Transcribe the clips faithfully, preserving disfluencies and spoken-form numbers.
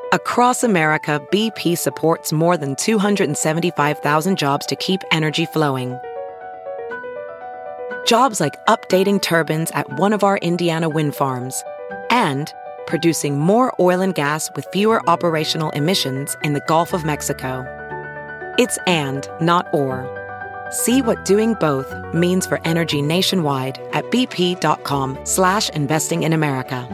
Across America, B P supports more than two hundred seventy-five thousand jobs to keep energy flowing. Jobs like updating turbines at one of our Indiana wind farms and producing more oil and gas with fewer operational emissions in the Gulf of Mexico. It's and, not or. See what doing both means for energy nationwide at bp.com slash investing in America.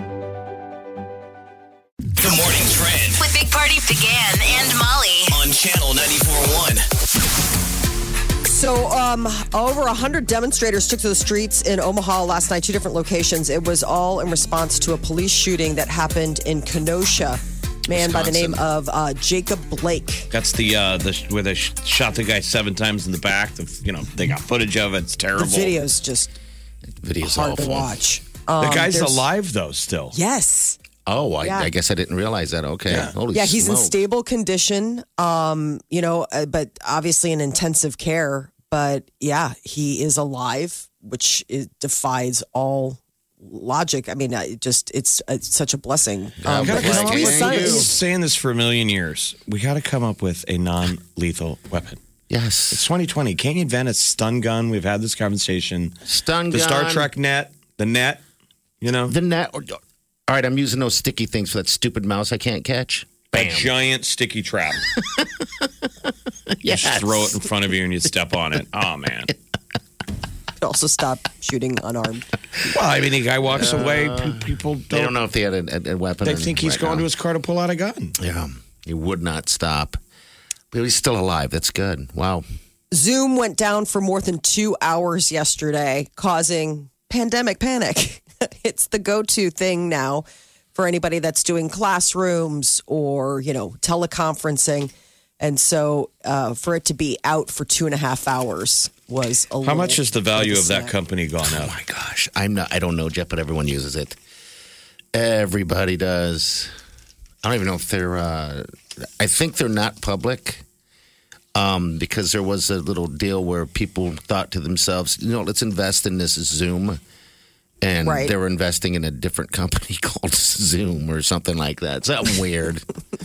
The morning trend with Big Party began and Molly on Channel ninety-four point one. So, um, over one hundred demonstrators took to the streets in Omaha last night, two different locations. It was all in response to a police shooting that happened in Kenosha. Man Wisconsin. By the name of uh, Jacob Blake. That's the uh, the where they sh- shot the guy seven times in the back. The, you know, they got footage of it. It's terrible. The video's just video's hard awful. to watch. Um, the guy's there's... alive though, still. Yes. Oh, I, yeah. I guess I didn't realize that. Okay. Yeah, Holy yeah he's smoke. in stable condition, um, you know, uh, but obviously in intensive care. But yeah, he is alive, which it defies all logic. I mean, it just it's, it's such a blessing. Um, Gotta, but I've his son been is- saying this for a million years. We got to come up with a non-lethal weapon. Yes. It's twenty twenty. Can't you invent a stun gun? We've had this conversation. Stun the gun. The Star Trek net, the net, you know? The net. All right, I'm using those sticky things for that stupid mouse I can't catch. Bam. A giant sticky trap. Yes. You just throw it in front of you and you step on it. Oh, man. Also stop shooting unarmed. Well, I mean, the guy walks Uh, away. People don't, They don't know if they had a, a, a weapon. They think he's right going now. to his car to pull out a gun. Yeah, he would not stop. But he's still alive. That's good. Wow. Zoom went down for more than two hours yesterday, causing pandemic panic. It's the go-to thing now for anybody that's doing classrooms or, you know, teleconferencing. And so uh, for it to be out for two and a half hours was a How little much has the value of that sad. company gone Oh up? my gosh. I'm not I don't know, Jeff, but everyone uses it. Everybody does. I don't even know if they're uh, I think they're not public. Um, because there was a little deal where people thought to themselves, you know, let's invest in this Zoom. And Right. they were investing in a different company called Zoom or something like that. Something weird.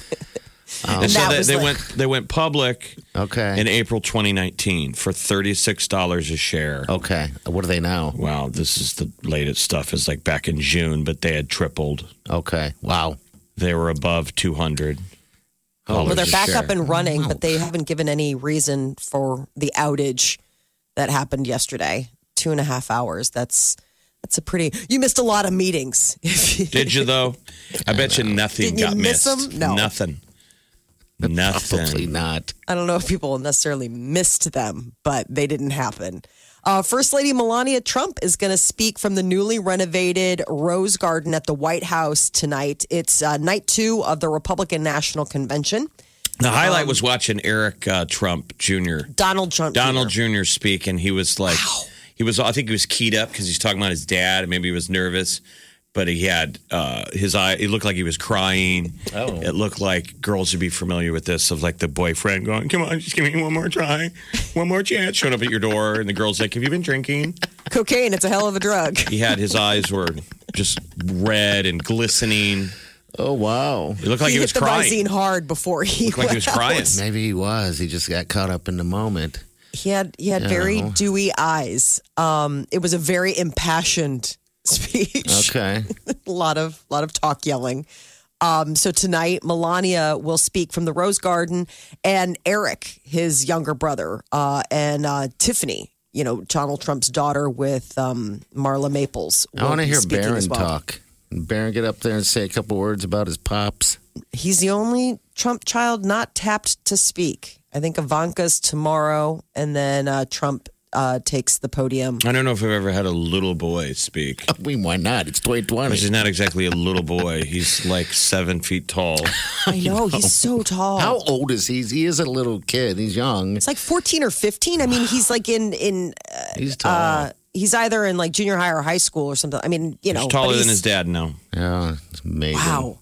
Um, And so that they, was they like- went they went public okay. in April twenty nineteen for thirty-six dollars a share. Okay. What are they now? Wow, this is the latest stuff. Is like back in June, but they had tripled. Okay. Wow. They were above two hundred. Oh, Well, they're a back share. up and running, but they haven't given any reason for the outage that happened yesterday. Two and a half hours. That's that's a pretty. You missed a lot of meetings. Did you though? I bet you nothing Didn't you got miss missed. them? No. Nothing. Probably Nothing. not. I don't know if people necessarily missed them, but they didn't happen. Uh, First Lady Melania Trump is going to speak from the newly renovated Rose Garden at the White House tonight. It's uh, night two of the Republican National Convention. The highlight was watching Eric uh, Trump Junior Donald Trump. Donald Junior Junior speak, and he was like, he was. I think he was keyed up because he's talking about his dad, and maybe he was nervous. But he had uh, his eye. It looked like he was crying. Oh. It looked like girls would be familiar with this of like the boyfriend going, "Come on, just give me one more try, one more chance." Showing up at your door, and the girl's like, "Have you been drinking?" Cocaine, it's a hell of a drug. He had his eyes were just red and glistening. Oh, wow. It looked like he, he was hit the crying. Visine hard before he Looked like he was went crying. out. Maybe he was. He just got caught up in the moment. He had he had Yeah. very dewy eyes. Um, it was a very impassioned speech. Okay. a lot of lot of talk yelling. Um, so tonight, Melania will speak from the Rose Garden, and Eric, his younger brother, uh, and uh, Tiffany, you know, Donald Trump's daughter with um, Marla Maples. I want to will be hear speaking Barron as well. talk. Barron get up there and say a couple words about his pops. He's the only Trump child not tapped to speak. I think Ivanka's tomorrow, and then uh, Trump uh, takes the podium. I don't know if I've ever had a little boy speak. I mean, why not? It's twenty twenty. Which is not exactly a little boy. He's like seven feet tall. I know, he's so tall. How old is he? He is a little kid. He's young. It's like fourteen or fifteen. I mean, he's like in in. Uh, He's tall. uh, he's either in like junior high or high school or something. I mean, you know, He's but taller he's- than his dad now. yeah, it's amazing. Wow,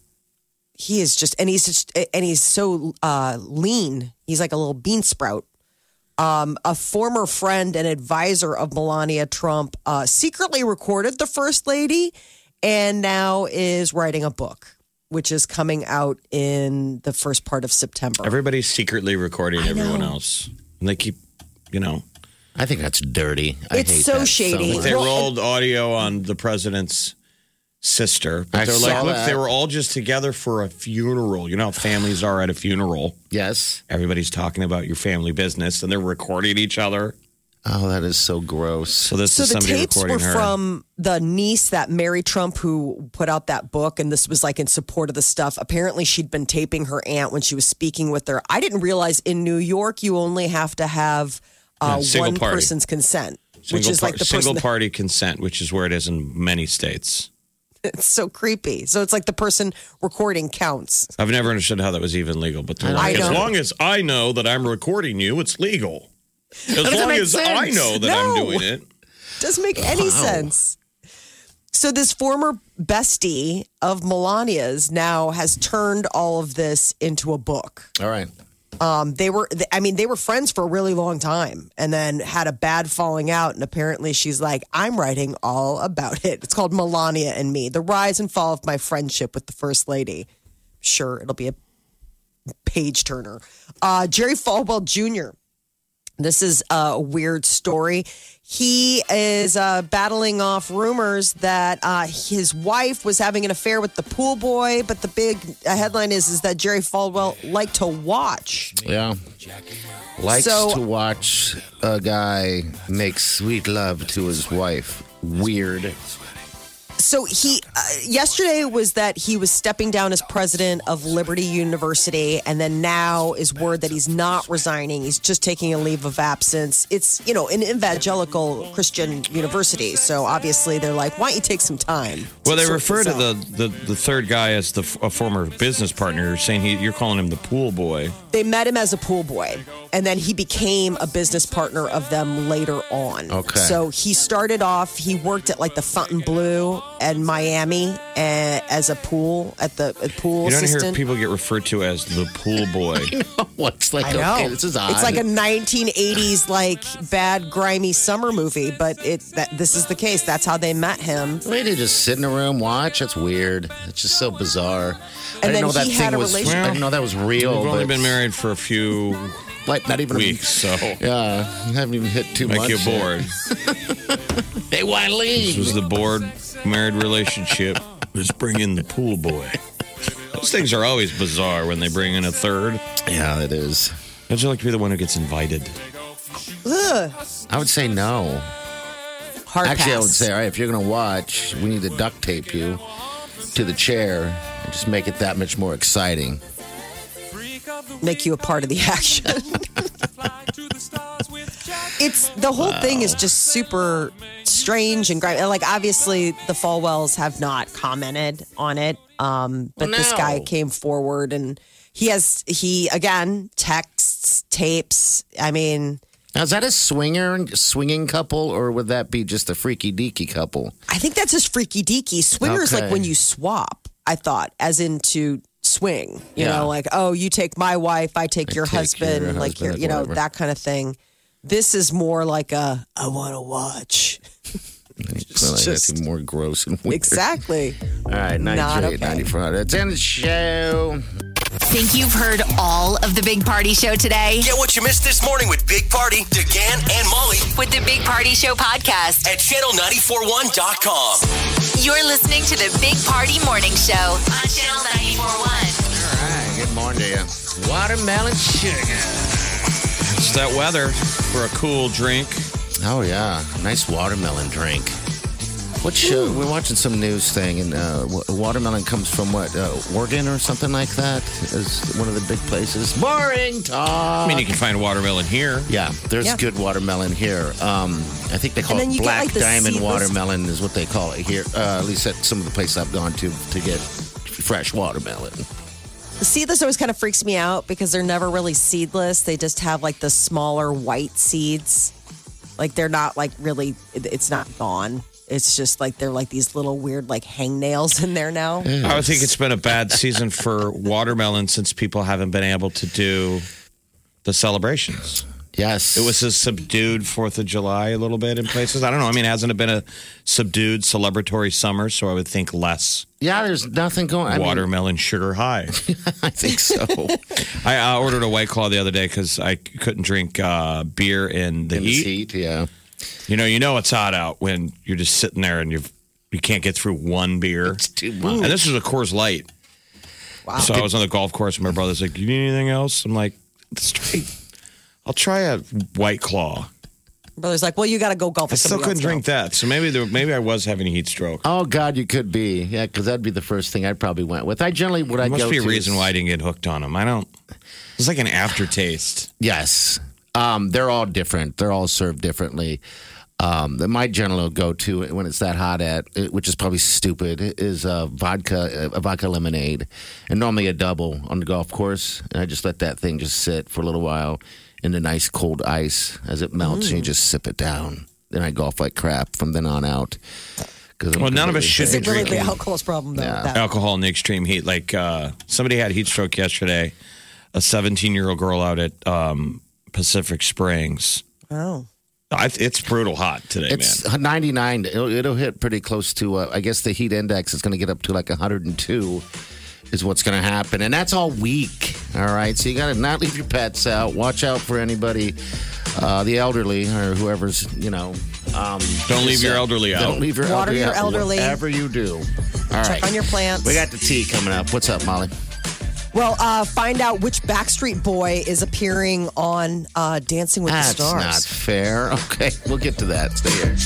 he is just, and he's just, and he's so uh, lean. He's like a little bean sprout. Um, a former friend and advisor of Melania Trump uh, secretly recorded the first lady, and now is writing a book which is coming out in the first part of September. Everybody's secretly recording everyone else. And they keep, you know. I think that's dirty. I It's hate so that shady. much. They Well, rolled audio on the president's sister. But I they're like, saw look, that. they were all just together for a funeral. You know how families are at a funeral? Yes. Everybody's talking about your family business and they're recording each other. Oh, that is so gross. So this So is the somebody tapes recording were her. from the niece that Mary Trump, who put out that book, and this was like in support of the stuff. Apparently, she'd been taping her aunt when she was speaking with her. I didn't realize in New York you only have to have uh, Yeah, single one party. person's consent, single which is par- like the single person. party consent, which is where it is in many states. It's so creepy. So it's like the person recording counts. I've never understood how that was even legal, but they're I like, as know. long as I know that I'm recording you, it's legal. As doesn't long make as I sense. know that No. I'm doing it. Doesn't make any sense. So this former bestie of Melania's now has turned all of this into a book. All right. Um, they were, I mean, they were friends for a really long time, and then had a bad falling out. And apparently, she's like, "I'm writing all about it." It's called Melania and Me: The Rise and Fall of My Friendship with the First Lady. Sure, it'll be a page turner. Uh, Jerry Falwell Junior This is a weird story. He is uh, battling off rumors that uh, his wife was having an affair with the pool boy, but the big uh, headline is is that Jerry Falwell liked to watch. Yeah. Likes So- to watch a guy make sweet love to his wife. Weird. So he uh, yesterday was that he was stepping down as president of Liberty University, and then now is word that he's not resigning. He's just taking a leave of absence. It's, you know, an evangelical Christian university, so obviously they're like, why don't you take some time? Well, they sort refer this to the, out? the, the third guy as the a former business partner, saying he, you're calling him the pool boy. They met him as a pool boy, and then he became a business partner of them later on. Okay. So he started off, he worked at like the Fontainebleau and Miami uh, as a pool, at the uh, pool You don't hear assistant. people get referred to as the pool boy. What's like, I know. okay, this is odd. It's like a nineteen eighties like bad grimy summer movie, but it that this is the case. That's how they met him. Wait, they just sit in a room, watch? That's weird. It's just so bizarre. I And didn't then know that he thing had a was. relationship- I didn't know that was real. We've only but, been married for a few like not even weeks, so A, yeah, I haven't even hit two make months. you yet. bored. Hey, why This leave? was the bored married relationship. Let's bring in the pool boy. Those things are always bizarre when they bring in a third. Yeah, it is. How'd you like to be the one who gets invited? Ugh, I would say no. hard Actually, I would pass. say, all right, if you're going to watch, we need to duct tape you to the chair and just make it that much more exciting. Make you a part of the action. It's the whole thing is just super strange and grimy. Like obviously the Falwells have not commented on it, um, but this No. guy came forward and he has he again texts, tapes. I mean, Now, is that a swinger, swinging couple, or would that be just a freaky deaky couple? I think that's just freaky deaky. Swinger is like Okay. when you swap. I thought, as in to swing. You Yeah. know, like oh, you take my wife, I take I your take husband, your like husband, your, you know, whatever. that kind of thing. This is more like a I want to watch. Well, just- that's more gross and weird. Exactly. All right, Not ninety-three, okay. ninety-four. That's in the show. Think you've heard all of the Big Party Show today? Get what you missed this morning with Big Party, DeGan, and Molly With the Big Party Show podcast. at channel nine four one dot com. You're listening to the Big Party Morning Show on Channel ninety-four point one. All right, good morning to you. Watermelon sugar. It's that weather for a cool drink. Oh, yeah. Nice watermelon drink. What show? We're watching some news thing, and uh, wa- watermelon comes from what? Uh, Oregon or something like that is one of the big places. Boring talk. I mean, you can find watermelon here. Yeah, there's Yeah. good watermelon here. Um, I think they call And then it you get, black like, the diamond seedless- watermelon is what they call it here. Uh, at least at some of the places I've gone to to get fresh watermelon. The seedless always kind of freaks me out because they're never really seedless. They just have like the smaller white seeds. Like they're not like really, it- it's not gone. It's just like they're like these little weird like hangnails in there now. I would think it's been a bad season for watermelon since people haven't been able to do the celebrations. Yes. It was a subdued fourth of July a little bit in places. I don't know. I mean, hasn't it been a subdued celebratory summer? So I would think less Yeah, there's nothing going on. watermelon sugar high. I think so. I uh, ordered a White Claw the other day because I couldn't drink uh, beer in the In heat. this heat, yeah. You know, you know it's hot out when you're just sitting there and you you can't get through one beer. It's too much. And this was a Coors Light. Wow. So I was on the golf course and my brother's like, "You need anything else?" I'm like, "Straight. I'll try a White Claw." Brother's like, well, you got to go golf I with still somebody couldn't else drink that. So maybe there, maybe I was having a heat stroke. Oh, God, you could be. Yeah, because that'd be the first thing I probably went with. I generally, what I There must go be a to reason is- why I didn't get hooked on them. I don't. It's like an aftertaste. Yes. Um, they're all different. They're all served differently. Um, the- my general go-to when it's that hot at, which is probably stupid, is uh, vodka, a vodka lemonade, and normally a double on the golf course. And I just let that thing just sit for a little while in the nice cold ice as it melts, and you just sip it down. Then I golf like crap from then on out. 'Cause I'm Well, none of us completely- should Is be it really the drinking alcohol's problem, though? Yeah. That- alcohol in the extreme heat. Like uh, somebody had heat stroke yesterday. A seventeen-year-old girl out at um, Pacific Springs. Oh. I, it's brutal hot today, It's man. ninety-nine. It'll, it'll hit pretty close to, uh, I guess the heat index is going to get up to like one hundred two is what's going to happen. And that's all week. All right. So you got to not leave your pets out. Watch out for anybody, uh, the elderly or whoever's, you know. Um, Don't leave just, your uh, elderly out. Don't leave your Water elderly your out. elderly. Whatever you do. All right. Check on your plants. We got the tea coming up. What's up, Molly? Well, uh, find out which Backstreet Boy is appearing on uh, Dancing with That's the Stars. not fair. Okay. We'll get to that. Stay here.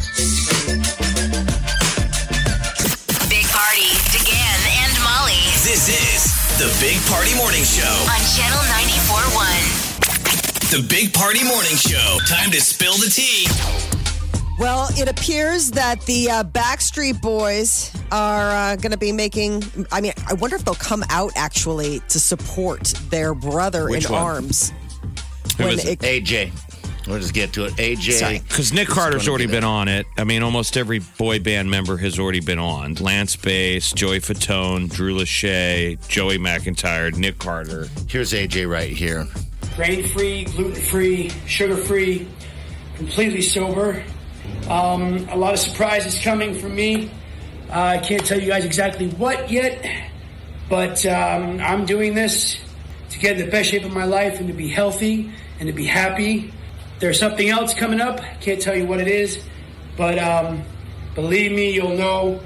Big Party, DeGan and Molly This is the Big Party Morning Show. on Channel ninety-four point one. The Big Party Morning Show. Time to spill the tea. Well, it appears that the uh, Backstreet Boys are uh, going to be making. I mean, I wonder if they'll come out actually to support their brother Which in one? arms. Who When is it? A J. We'll just get to it. A J. Sorry. Because Nick It's Carter's gonna already be been there. on it. I mean, almost every boy band member has already been on. Lance Bass, Joey Fatone, Drew Lachey, Joey McIntyre, Nick Carter. Here's A J right here. Grain-free, gluten-free, sugar-free, completely sober. Um, a lot of surprises coming from me. Uh, I can't tell you guys exactly what yet, but um, I'm doing this to get in the best shape of my life and to be healthy and to be happy. There's something else coming up. Can't tell you what it is, but um, believe me, you'll know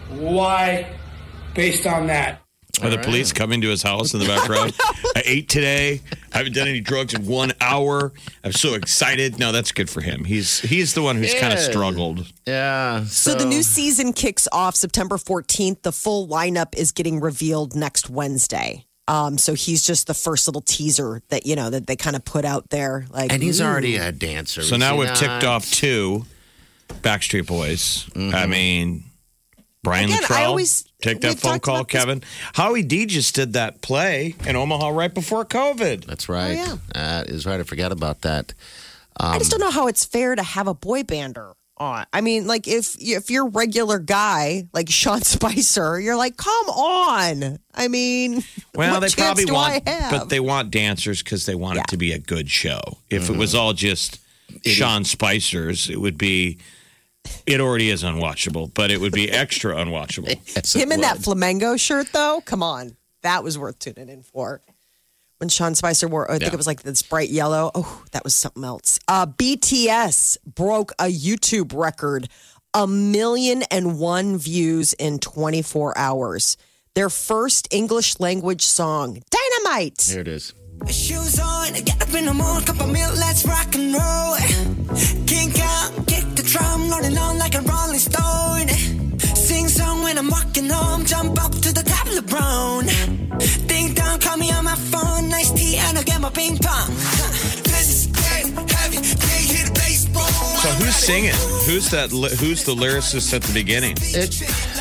why based on that. Are the police coming to his house in the background? I ate today. I haven't done any drugs in one hour. I'm so excited. No, that's good for him. He's he's the one who's kind of Yeah. struggled. Yeah. So the new season kicks off September fourteenth. The full lineup is getting revealed next Wednesday. Um, so he's just the first little teaser that you know that they kind of put out there. Like, And he's ooh. already a dancer. So is now he we've not? ticked off two Backstreet Boys. Mm-hmm. I mean, Brian Again, I Luttrell. always- Take that we've phone talked call, about this- Kevin. Howie D just did that play in Omaha right before COVID. That's right. Oh, yeah. That is right. I forgot about that. I just don't know how it's fair to have a boy bander on. I mean, like if if you're a regular guy like Sean Spicer, you're like, come on. I mean, Well, what they chance probably do want, I have? but they want dancers because they want Yeah. it to be a good show. If it was all just Sean Spicer's, it would be. It already is unwatchable, but it would be extra unwatchable. Yes, it Him in that would. flamenco shirt, though, come on, that was worth tuning in for. When Sean Spicer wore, I think Yeah. it was like this bright yellow. Oh, that was something else. Uh, B T S broke a YouTube record, a million and one views in twenty-four hours. Their first English language song, Dynamite. Here it is. Shoes on, get up in the morning, cup of milk, let's rock and roll. Kink out, kick the drum, rolling on like a rolling stone. Sing song when I'm walking home, jump up to the top of the brown. Ding dong, call me on my phone, nice tea, and I'll get my ping pong. This is getting heavy, can't hear the bass boom. So who's singing? Who's that? li- Who's the lyricist at the beginning? It,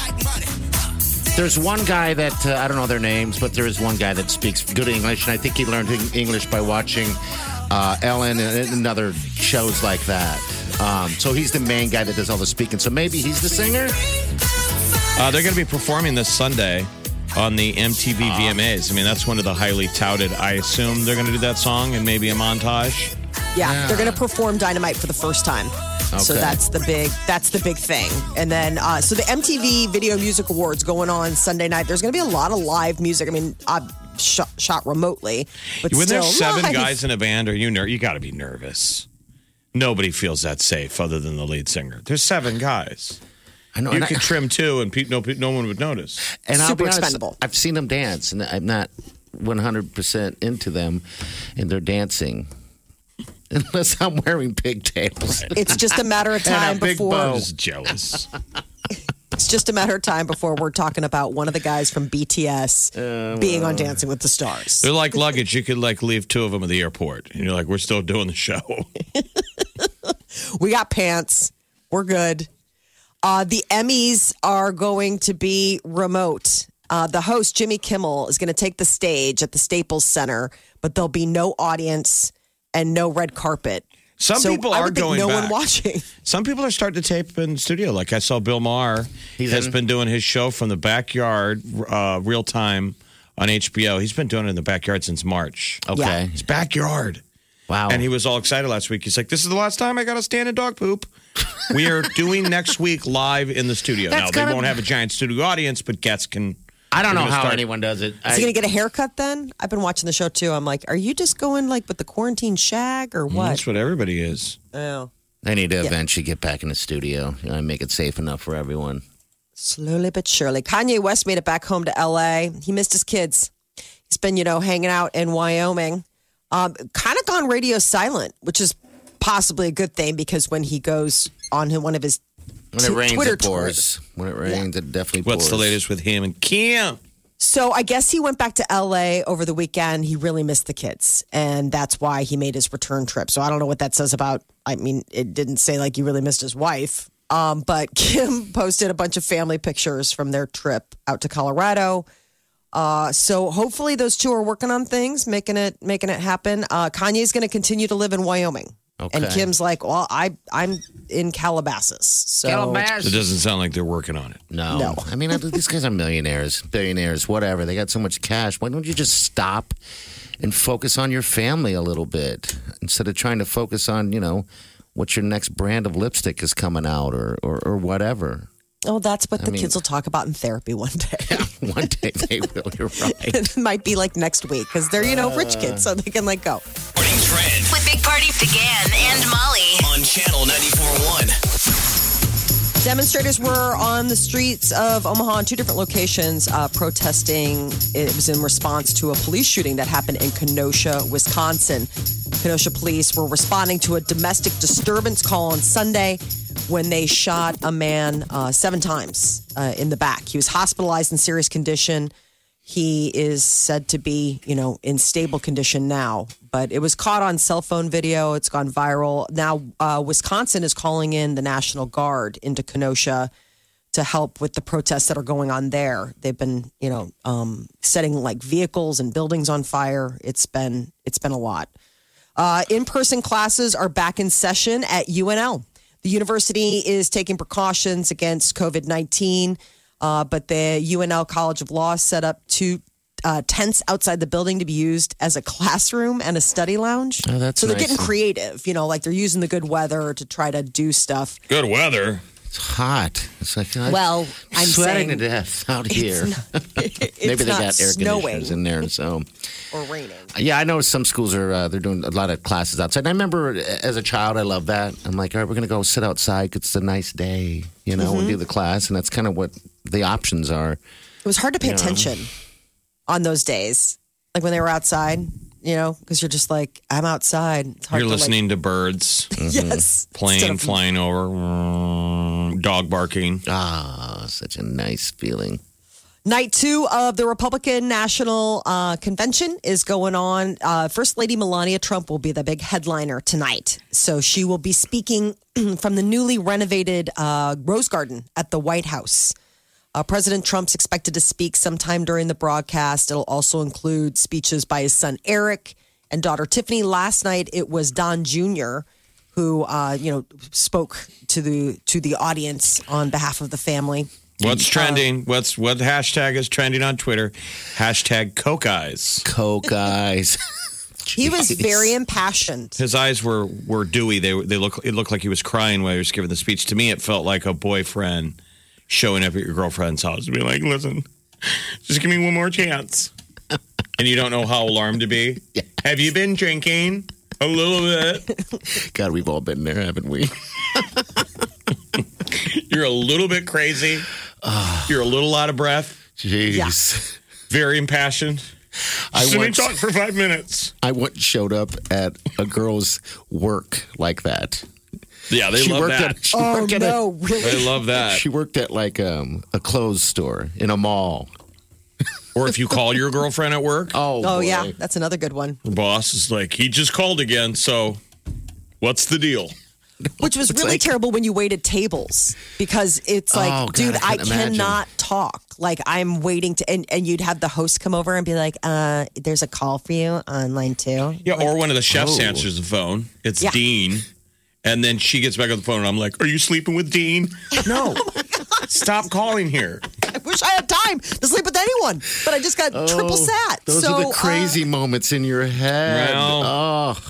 there's one guy that, uh, I don't know their names, but there is one guy that speaks good English, and I think he learned Eng- English by watching uh, Ellen and, and other shows like that. Um, so he's the main guy that does all the speaking. So maybe he's the singer? Uh, they're going to be performing this Sunday on the M T V V M As. I mean, that's one of the highly touted. I assume they're going to do that song and maybe a montage. Yeah, Yeah. they're going to perform Dynamite for the first time. So Okay. that's the big that's the big thing. And then uh, so the M T V Video Music Awards going on Sunday night. There's going to be a lot of live music. I mean, uh, shot, shot remotely, but When still there's seven live. guys in a band, are you ner- you got to be nervous. Nobody feels that safe other than the lead singer. There's seven guys. I know. You and I- could trim two, and pe- no, pe- no one would notice. And I'll Super be honest, expendable. I've seen them dance, and I'm not one hundred percent into them, and they're dancing. Unless I'm wearing pigtails. It's just a matter of And a time big before bow. I was jealous. it's just a matter of time before we're talking about one of the guys from B T S being on Dancing with the Stars. They're like luggage. You could like leave two of them at the airport, and you're like, we're still doing the show. We got pants. We're good. Uh, the Emmys are going to be remote. Uh, the host, Jimmy Kimmel, is going to take the stage at the Staples Center, but there'll be no audience and no red carpet. Some So people I are would think going no back. one watching. Some people are starting to tape in studio. Like I saw Bill Maher He's has in? been doing his show from the backyard, uh, real time on H B O. He's been doing it in the backyard since March. Okay. Yeah. His backyard. Wow. And he was all excited last week. He's like, this is the last time I got to stand in dog poop. We are doing next week live in the studio. That's now, they gotta- won't have a giant studio audience, but guests can. I don't We're know gonna how start- anyone does it. Is I, he going to get a haircut then? I've been watching the show too. I'm like, are you just going like with the quarantine shag or what? That's what everybody is. Oh. they need to eventually get back in the studio, you know, and make it safe enough for everyone. Slowly but surely. Kanye West made it back home to L A. He missed his kids. He's been, you know, hanging out in Wyoming. Um, kind of gone radio silent, which is possibly a good thing because when he goes on one of his When it t- rains, Twitter it pours. When it rains, it definitely pours. What's the latest with him and Kim? So I guess he went back to L A over the weekend. He really missed the kids, and that's why he made his return trip. So I don't know what that says about. I mean, it didn't say like he really missed his wife. Um, but Kim posted a bunch of family pictures from their trip out to Colorado. Uh, so hopefully those two are working on things, making it making it happen. Uh, Kanye's going to continue to live in Wyoming, and Okay. Kim's like, well, I I'm in Calabasas. So Calabasas. It doesn't sound like they're working on it. No. No. I mean, these guys are millionaires, billionaires, whatever. They got so much cash. Why don't you just stop and focus on your family a little bit instead of trying to focus on, you know, what your next brand of lipstick is coming out or, or, or whatever. oh, that's what the mean- kids will talk about in therapy one day. One day they will. You're right. It might be like next week because they're, you know, rich kids, so they can like go. Morning Trend With Big Party began and Molly. on Channel ninety-four point one. Demonstrators were on the streets of Omaha in two different locations uh, protesting. It was in response to a police shooting that happened in Kenosha, Wisconsin. Kenosha police were responding to a domestic disturbance call on Sunday when they shot a man uh, seven times uh, in the back. He was hospitalized in serious condition. He is said to be, you know, in stable condition now, but it was caught on cell phone video. It's gone viral. Now, uh, Wisconsin is calling in the National Guard into Kenosha to help with the protests that are going on there. They've been, you know, um, setting like vehicles and buildings on fire. It's been, it's been a lot. Uh, in-person classes are back in session at U N L. The university is taking precautions against COVID nineteen. Uh, but the U N L College of Law set up two uh, tents outside the building to be used as a classroom and a study lounge. Oh, that's so they're nice. getting creative, you know, like they're using the good weather to try to do stuff. Good weather. It's hot. It's like I, Well, I'm sweating saying to death out here. It's not, it's Maybe they not got air snowing conditioners in there, so or raining. yeah, I know some schools are uh, they're doing a lot of classes outside. And I remember as a child, I loved that. I'm like, all right, we're gonna go sit outside 'cause it's a nice day, you know, Mm-hmm. and do the class, and that's kind of what the options are. It was hard to pay Yeah. attention on those days, like when they were outside, you know, because you're just like, I'm outside. It's hard You're to, like- listening to birds, yes, plane Instead of- flying over, mm, dog barking. Ah, such a nice feeling. Night two of the Republican National uh, Convention is going on. Uh, First Lady Melania Trump will be the big headliner tonight. So she will be speaking from the newly renovated uh, Rose Garden at the White House. Uh, President Trump's expected to speak sometime during the broadcast. It'll also include speeches by his son Eric and daughter Tiffany. Last night it was Don Junior who uh, you know spoke to the to the audience on behalf of the family. What's trending? What's what hashtag is trending on Twitter? Hashtag Coke Eyes. Coke eyes. He was Jeez. very impassioned. His eyes were were dewy. They they look it looked like he was crying while he was giving the speech. To me, it felt like a boyfriend showing up at your girlfriend's house and being like, "Listen, just give me one more chance." And you don't know how alarmed to be. Yeah. Have you been drinking a little bit? God, we've all been there, haven't we? You're a little bit crazy. You're a little out of breath. Jeez. Yeah. Very impassioned. I Just let me once- talk for five minutes. I once showed up at a girl's work like that. Yeah, they she love worked that. At, she Oh, worked at no, a, really? They love that. She worked at like um, a clothes store in a mall. Or if you call your girlfriend at work, Oh, Oh, boy. yeah. That's another good one. the boss is like, he just called again, so what's the deal? Which was It's really like- terrible when you waited tables because it's like, Oh, God, dude, I I, can't imagine. cannot talk. Like I'm waiting to, and, and you'd have the host come over and be like, uh, there's a call for you on line two. Yeah, or one of the chefs Oh. answers the phone. It's Yeah. Dean. And then she gets back on the phone and I'm like, are you sleeping with Dean? No. Stop calling here. I wish I had time to sleep with anyone, but I just got triple sat. Those so, are the uh, crazy moments in your head. Well. oh,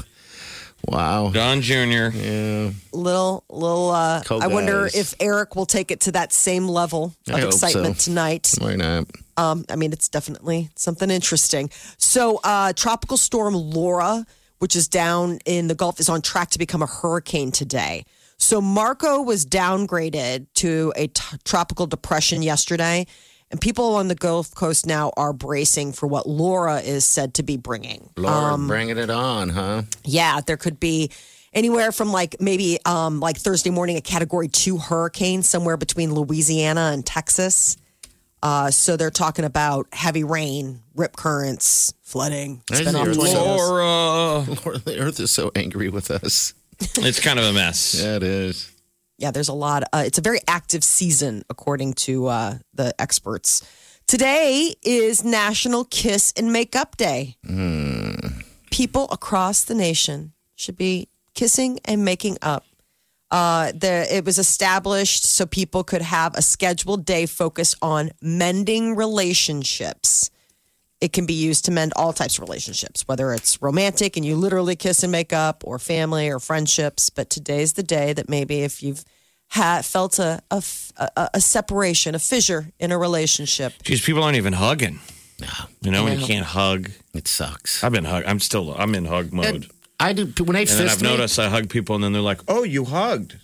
wow. Don Junior Yeah. little, little, uh, Cold I wonder guys. if Eric will take it to that same level I of hope excitement so. tonight. Why not? Um, I mean, it's definitely something interesting. So, uh, Tropical Storm Laura, which is down in the Gulf, is on track to become a hurricane today. So, Marco was downgraded to a t- tropical depression yesterday, and people on the Gulf Coast now are bracing for what Laura is said to be bringing. Lord, bringing it on, huh? Yeah, there could be anywhere from like maybe um, like Thursday morning, a category two hurricane somewhere between Louisiana and Texas. Uh, so they're talking about heavy rain, rip currents, flooding. I Spin off hear tornadoes. Laura. Lord, the earth is so angry with us. It's kind of a mess. Yeah, it is. Yeah, there's a lot. Uh, it's a very active season, according to uh, the experts. Today is National Kiss and Makeup Day. Mm. People across the nation should be kissing and making up. Uh, the, it was established so people could have a scheduled day focused on mending relationships. It can be used to mend all types of relationships, whether it's romantic and you literally kiss and make up, or family or friendships. But today's the day that maybe if you've had, felt a, a, a, a separation, a fissure in a relationship. Geez, people aren't even hugging. You know, when you can't hug. It sucks. I've been hug. I'm still. I'm in hug mode. And I do. When they And then fist I've me, noticed I hug people, and then they're like, "Oh, you hugged."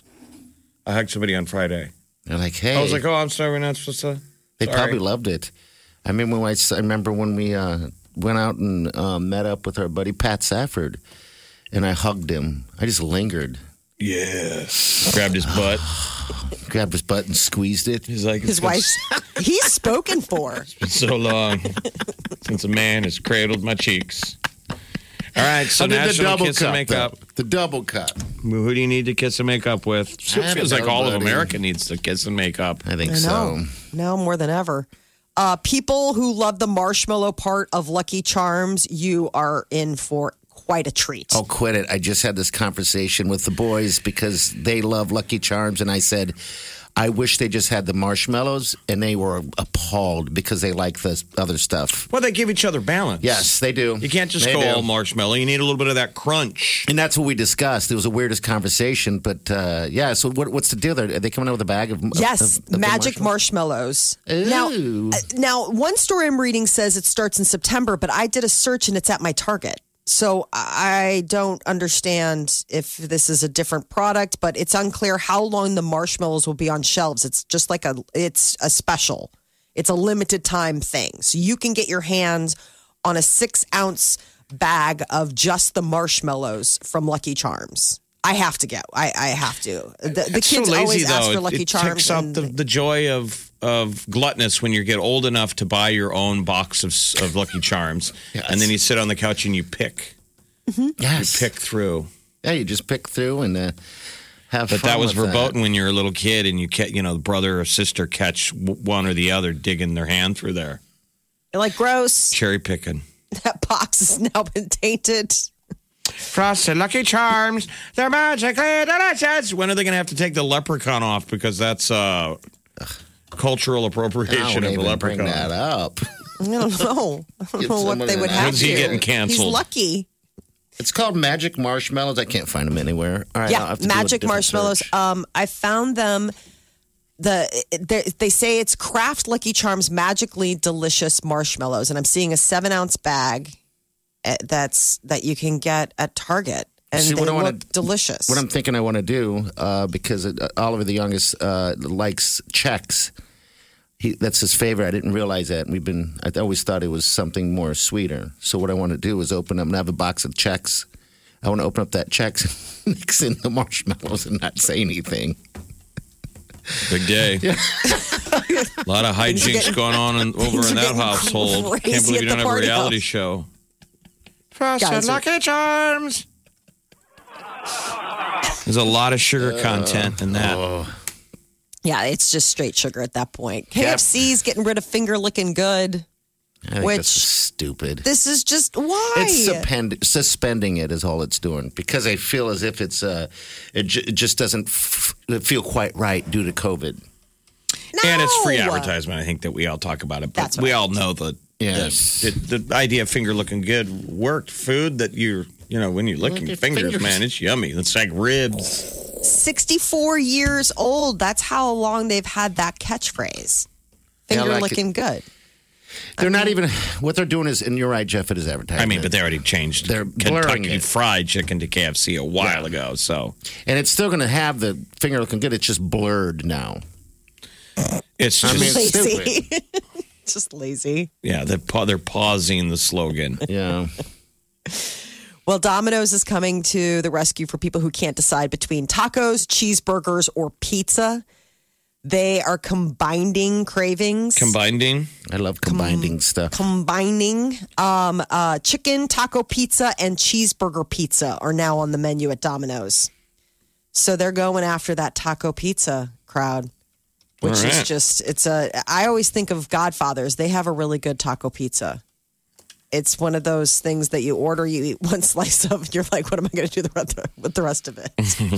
I hugged somebody on Friday. they're like, "Hey." I was like, "Oh, I'm sorry, we're not supposed to." They Sorry. probably loved it. I mean, when I, I remember when we uh, went out and uh, met up with our buddy Pat Safford, and I hugged him. I just lingered, Yeah. Grabbed his butt. grabbed his butt, and squeezed it. He's like, His "It's been wife's, he's spoken for. been so long since a man has cradled my cheeks." All right, so I did the National double Kiss cup. and Makeup. though. The double cup. Who do you need to kiss and make up with? I It feels like don't know, all of buddy. America needs to kiss and make up. I think I so. know. Now more than ever. Uh, people who love the marshmallow part of Lucky Charms, you are in for quite a treat. Oh, quit it. I just had this conversation with the boys because they love Lucky Charms. And I said, I wish they just had the marshmallows. And they were appalled because they like the other stuff. Well, they give each other balance. Yes, they do. You can't just They go do. all marshmallow. You need a little bit of that crunch. And that's what we discussed. It was the weirdest conversation. But uh, yeah, so what, what's the deal there? Are they coming out with a bag of Yes, of- of the magic marshmallows. Ooh. Now, uh, now, one story I'm reading says it starts in September, but I did a search and it's at my Target. So I don't understand if this is a different product, but it's unclear how long the marshmallows will be on shelves. It's just like a, it's a special. It's a limited time thing. So you can get your hands on a six ounce bag of just the marshmallows from Lucky Charms. I have to go. I, I have to. The, the It's kids so lazy, always though. ask for Lucky it Charms. takes out and the, the joy of of gluttonous when you get old enough to buy your own box of of Lucky Charms, Yes. and then you sit on the couch and you pick, Yes. pick through. Yeah, you just pick through and uh, have But fun that was with verboten when you were a little kid, and you catch, you know, brother or sister catch w- one or the other digging their hand through there, You're like, gross. cherry picking. That box has now been tainted. Frosted Lucky Charms, they're magically delicious. When are they going to have to take the leprechaun off? Because that's uh, cultural appropriation Don't of the even bring leprechaun. that up. I don't know. I don't Give know what someone they an would eye. have When's he to. getting canceled? He's lucky. It's called Magic Marshmallows. I can't find them anywhere. All right, I'll Yeah, have to do a Magic different Marshmallows. search. Um, I found them. The they, they say it's Kraft Lucky Charms magically delicious marshmallows, and I'm seeing a seven ounce bag uh, that's that you can get at Target, and See, they what I look wanna- delicious. What I'm thinking I want to do, uh, because uh, Oliver, the youngest, uh, likes Chex. He, that's his favorite. I didn't realize that. We've been. I always thought it was something more sweeter. So what I want to do is open up and have a box of Chex. I want to open up that Chex, mix in the marshmallows, and not say anything. Big day. A lot of hijinks going on in, over things in are that getting household. crazy Can't believe at you the don't have a party reality house. show. Guys are- Lucky Charms. There's a lot of sugar content in that. Yeah, it's just straight sugar at that point. K F C's getting rid of finger licking good. I think Which- this is stupid. This is just why. It's suspend, suspending it is all it's doing because I feel as if it's uh, it, j- it just doesn't f- feel quite right due to COVID. And it's free No. advertisement. I think that we all talk about it, but That's what we I all know that Yes. the, the, the idea of finger looking good worked. Food that you're, you know, when you're licking your fingers, fingers. man, it's yummy. It's like ribs. sixty-four years old. That's how long they've had that catchphrase. Finger like looking good. They're not even what they're doing is, and you're right, Jeff. It is advertising. I mean, but they already changed They're blurring Kentucky it. Fried Chicken to K F C a while Yeah. ago. So and it's still going to have the finger looking good. It's just blurred now. it's I just, mean, it's Lazy. Just lazy. yeah, they're, pa- they're pausing the slogan. Yeah. Well, Domino's is coming to the rescue for people who can't decide between tacos, cheeseburgers, or pizza. They are combining cravings. Combining. I love combining stuff. combining um, uh, chicken, taco pizza, and cheeseburger pizza are now on the menu at Domino's. So they're going after that taco pizza crowd, which All is right. just, it's a, I always think of Godfathers. They have a really good taco pizza. It's one of those things that you order, you eat one slice of, and you're like, what am I going to do the rest of, with the rest of it?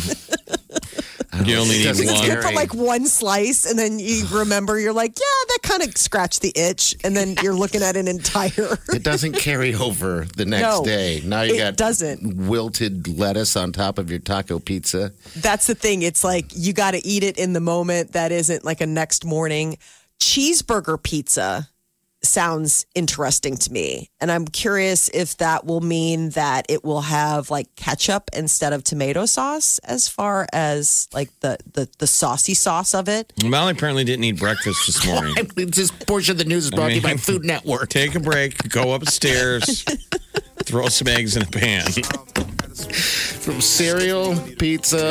You only It need doesn't Because you one. scare- put like one slice, and then you remember, you're like, yeah, that kind of scratched the itch. And then you're looking at an entire. It doesn't carry over the next No, day. Now you it got doesn't. wilted lettuce on top of your taco pizza. That's the thing. It's like you got to eat it in the moment. That isn't like a next morning. Cheeseburger pizza sounds interesting to me. And I'm curious if that will mean that it will have like ketchup instead of tomato sauce as far as like the, the, the saucy sauce of it. Molly apparently didn't eat breakfast this morning. This portion of the news is brought to you by mean, Food Network. Take a break, go upstairs, throw some eggs in a pan. From cereal, pizza,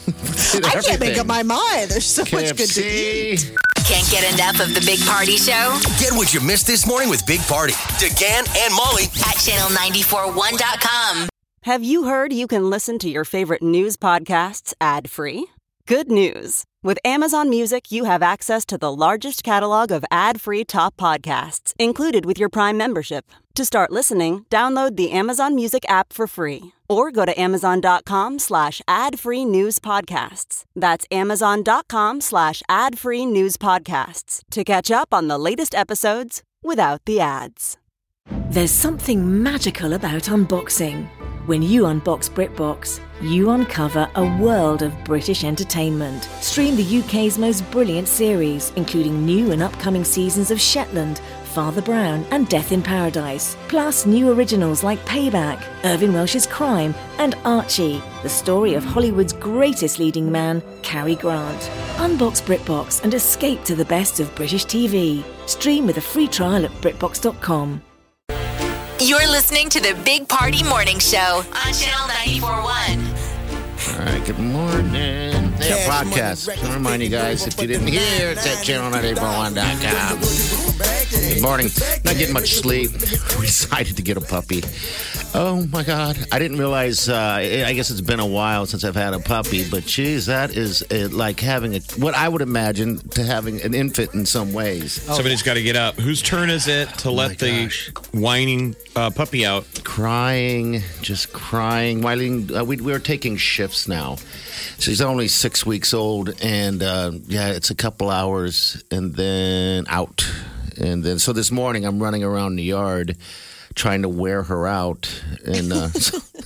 I can't make up my mind. There's so much good to eat. K F C. Can't get enough of the Big Party Show Get what you missed this morning with Big Party, DeGan and Molly at channel nine four one dot com. Have you heard you can listen to your favorite news podcasts ad-free? Good news. With Amazon Music, you have access to the largest catalog of ad-free top podcasts included with your Prime membership. To start listening, download the Amazon Music app for free or go to amazon.com slash ad-free news podcasts. That's amazon.com slash ad-free news podcasts to catch up on the latest episodes without the ads. There's something magical about unboxing. When you unbox BritBox, you uncover a world of British entertainment. Stream the U K's most brilliant series, including new and upcoming seasons of Shetland, Father Brown, and Death in Paradise. Plus new originals like Payback, Irving Welsh's Crime, and Archie, the story of Hollywood's greatest leading man, Cary Grant. Unbox BritBox and escape to the best of British T V. Stream with a free trial at britbox dot com. You're listening to the Big Party Morning Show on channel nine four one. All right, good morning. They have podcasts. I remind you guys, if you didn't hear, it's at channel nine four one dot com. Good morning. Not getting much sleep. We decided to get a puppy. Oh, my God. I didn't realize, uh, I guess it's been a while since I've had a puppy, but geez, that is uh, like having a, what I would imagine to having an infant in some ways. Somebody's got to get up. Whose turn is it to let the gosh. whining uh, puppy out? Crying, just crying. Wileen, uh, we, we were taking shifts now. She's only six weeks old, and uh, yeah, it's a couple hours, and then out. And then, so this morning, I'm running around the yard trying to wear her out. And uh, so,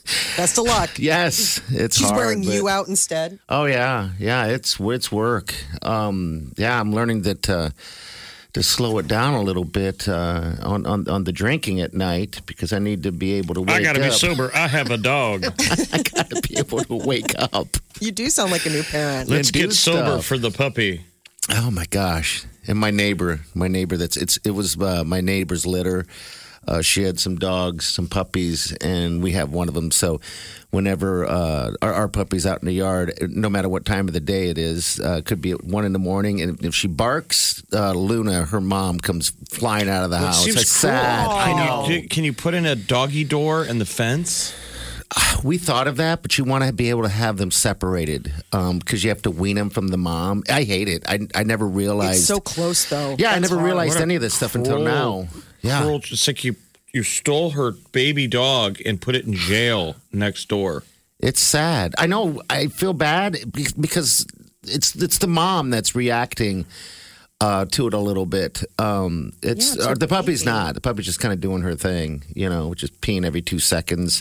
Best of luck. Yes, it's She's hard, wearing but- you out instead. Oh yeah, yeah. It's it's work. Um, yeah, I'm learning that uh, to slow it down a little bit uh, on, on on the drinking at night because I need to be able to wake I got to be up. sober. I have a dog. I got to be able to wake up. You do sound like a new parent. Let's And do get sober stuff. for the puppy. Oh my gosh! And my neighbor, my neighbor. That's it's. It was uh, my neighbor's litter. Uh, she had some dogs, some puppies, and we have one of them. So, whenever uh, our, our puppy's out in the yard, no matter what time of the day it is, uh, could be at one in the morning, and if she barks, uh, Luna, her mom, comes flying out of the Well, it house. seems It's cruel. sad. I know. Can you, can you put in a doggy door in the fence? We thought of that, but you want to be able to have them separated because you have to wean them from the mom. I hate it. I I never realized. It's so close, though. yeah, I That's never hard. realized What a any of this stuff until cruel- now. Yeah. Cruel, just like you, you stole her baby dog and put it in jail next door. It's sad. I know. I feel bad be- because it's it's the mom that's reacting uh, to it a little bit. Um, it's, Yeah, it's or her the puppy's baby. not. The puppy's just kind of doing her thing, you know, just peeing every two seconds.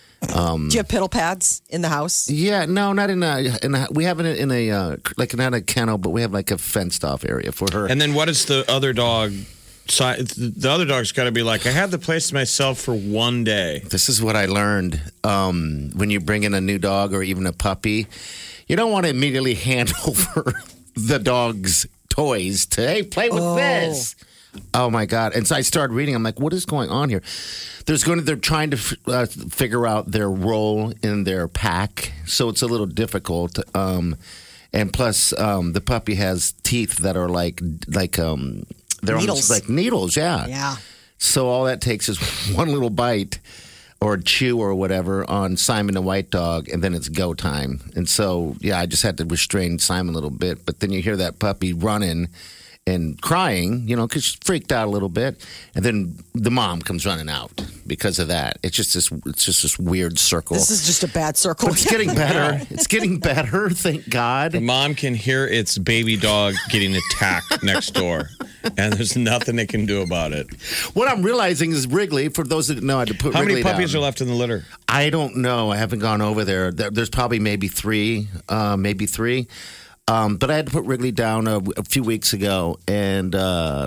Do you have piddle pads in the house? Yeah, no, not in a. In a we have it in a uh, like not a kennel, but we have like a fenced off area for her. And then what is the other dog? si- The other dog's got to be like, I had the place to myself for one day. This is what I learned um, when you bring in a new dog or even a puppy. You don't want to immediately hand over the dog's toys to, hey, play with Oh. this. Oh my God. And so I started reading. I'm like, what is going on here? There's going to, they're trying to uh, figure out their role in their pack. So it's a little difficult. Um, and plus, um, the puppy has teeth that are like, like, um, they're Needles. almost like needles. Yeah. Yeah. So all that takes is one little bite or chew or whatever on Simon the white dog, and then it's go time. And so, yeah, I just had to restrain Simon a little bit. But then you hear that puppy running and crying, you know, because she's freaked out a little bit. And then the mom comes running out because of that. It's just this, it's just this weird circle. This is just a bad circle. But it's getting better. It's getting better, thank God. The mom can hear its baby dog getting attacked next door, and there's nothing they can do about it. What I'm realizing is Wrigley, for those that know, I had to put How Wrigley many puppies down. are left in the litter? I don't know. I haven't gone over there. There- There's probably maybe three, uh, maybe three. Um, but I had to put Wrigley down a, a few weeks ago, and uh,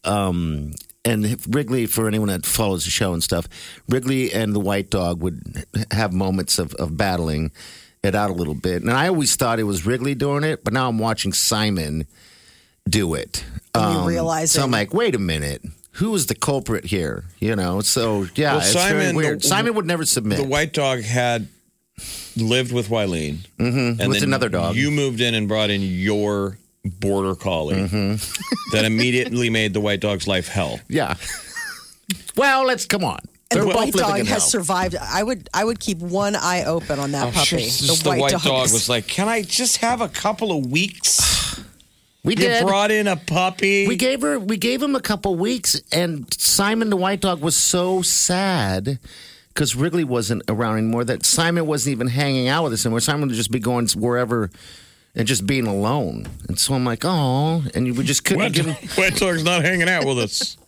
um, and Wrigley, for anyone that follows the show and stuff, Wrigley and the white dog would have moments of, of battling it out a little bit. And I always thought it was Wrigley doing it, but now I'm watching Simon do it. And you Um, realize so I'm it. like, wait a minute. Who is the culprit here? You know, so yeah, Well, it's very Simon- weird. Simon would never submit. The white dog had lived with Wileen. Mhm, and with then another dog. You moved in and brought in your border collie Mm-hmm. that immediately made the white dog's life hell. Yeah. Well, let's come on. And They're the both white living dog in has hell. survived. I would I would keep one eye open on that I'm puppy. sure just the white, dog was like, "Can I just have a couple of weeks?" We You did. brought in a puppy. We gave her. We gave him a couple weeks, and Simon the white dog was so sad because Wrigley wasn't around anymore. That Simon wasn't even hanging out with us anymore. Simon would just be going wherever and just being alone. And so I'm like, oh, and we just couldn't White, give him. white dog's not hanging out with us.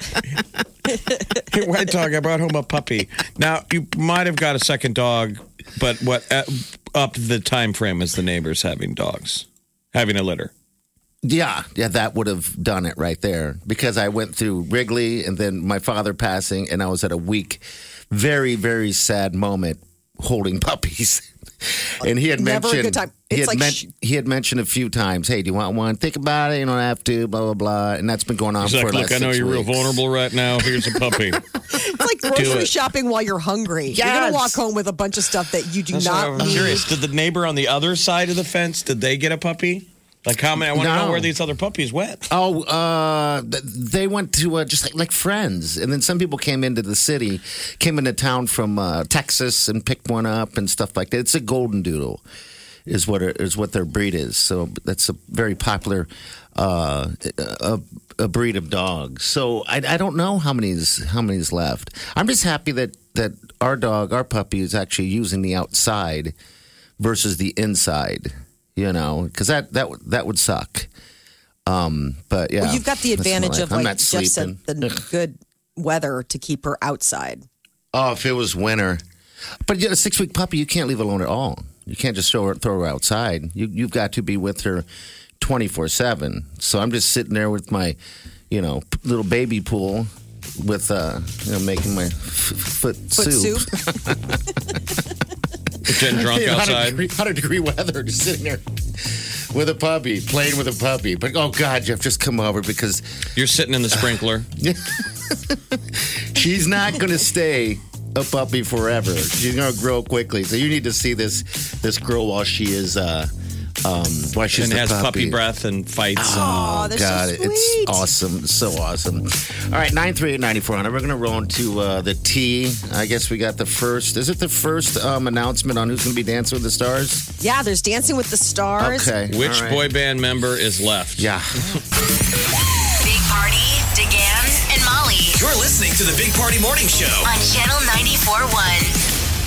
Hey, white dog, I brought home a puppy. Now you might have got a second dog, but what uh, up the time frame as the neighbors having dogs, having a litter. Yeah, yeah, that would have done it right there because I went through Wrigley and then my father passing, and I was at a weak, very, very sad moment holding puppies. And he had Never a mentioned, good time. He It's had, like men- sh- he had mentioned a few times, "Hey, do you want one? Think about it. You don't have to." Blah blah blah, and that's been going on He's for like, the look, last I know six you're real weeks. vulnerable right now. Here's a puppy. It's like grocery it. shopping while you're hungry. You're Yes. gonna walk home with a bunch of stuff that you do That's why not I'm need. curious. Did the neighbor on the other side of the fence, did they get a puppy? Like how many? I want to No. know where these other puppies went. Oh, uh, th- they went to uh, just like, like friends, and then some people came into the city, came into town from uh, Texas and picked one up and stuff like that. It's a golden doodle, is what it, is what their breed is. So that's a very popular uh, a, a breed of dogs. So I, I don't know how many's how many's left. I'm just happy that that our dog, our puppy, is actually using the outside versus the inside. You know, because that that would that would suck. Um, but yeah, Well, you've got the that's my advantage life. of, I'm like not Jeff sleeping. said, the good weather to keep her outside. Oh, if it was winter, But yeah, a six week puppy, you can't leave alone at all. You can't just throw her, throw her outside. You, you've got to be with her twenty-four seven. So I'm just sitting there with my, you know, little baby pool with, uh, you know, making my f- foot, Foot soup. soup. Getting drunk one hundred outside. degree, one hundred degree weather, just sitting there with a puppy, playing with a puppy. But, oh, God, Jeff, just come over because You're sitting in the sprinkler. she's not going to stay a puppy forever. She's going to grow quickly. So you need to see this this girl while she is, uh, um, while she's and the has puppy. puppy breath and fights. Oh, they're God, so sweet. it's awesome. It's so awesome. All right, nine three eight, nine four hundred. We're going to roll into uh, the T. I guess we got the first. Is it the first um, announcement on who's going to be Dancing with the Stars? Yeah, there's Dancing with the Stars. Okay. Which all right. boy band member is left? Yeah. Big Party, DeGan, and Molly You're listening to the Big Party Morning Show. on Channel ninety-four point one.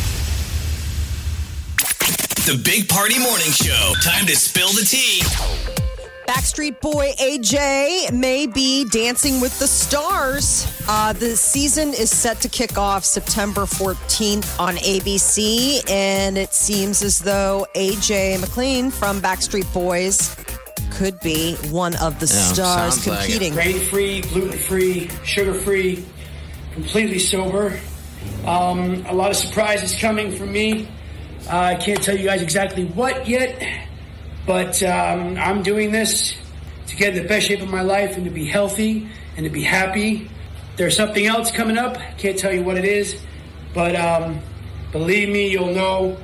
The Big Party Morning Show. Time to spill the tea. Backstreet Boy A J may be Dancing with the Stars. Uh, the season is set to kick off September fourteenth on A B C, and it seems as though A J McLean from Backstreet Boys could be one of the Yeah, stars sounds like it. competing. Grain-free, gluten-free, sugar-free, completely sober. Um, a lot of surprises coming from me. Uh, I can't tell you guys exactly what yet, but um, I'm doing this to get in the best shape of my life and to be healthy and to be happy. There's something else coming up. Can't tell you what it is, but um, believe me, you'll know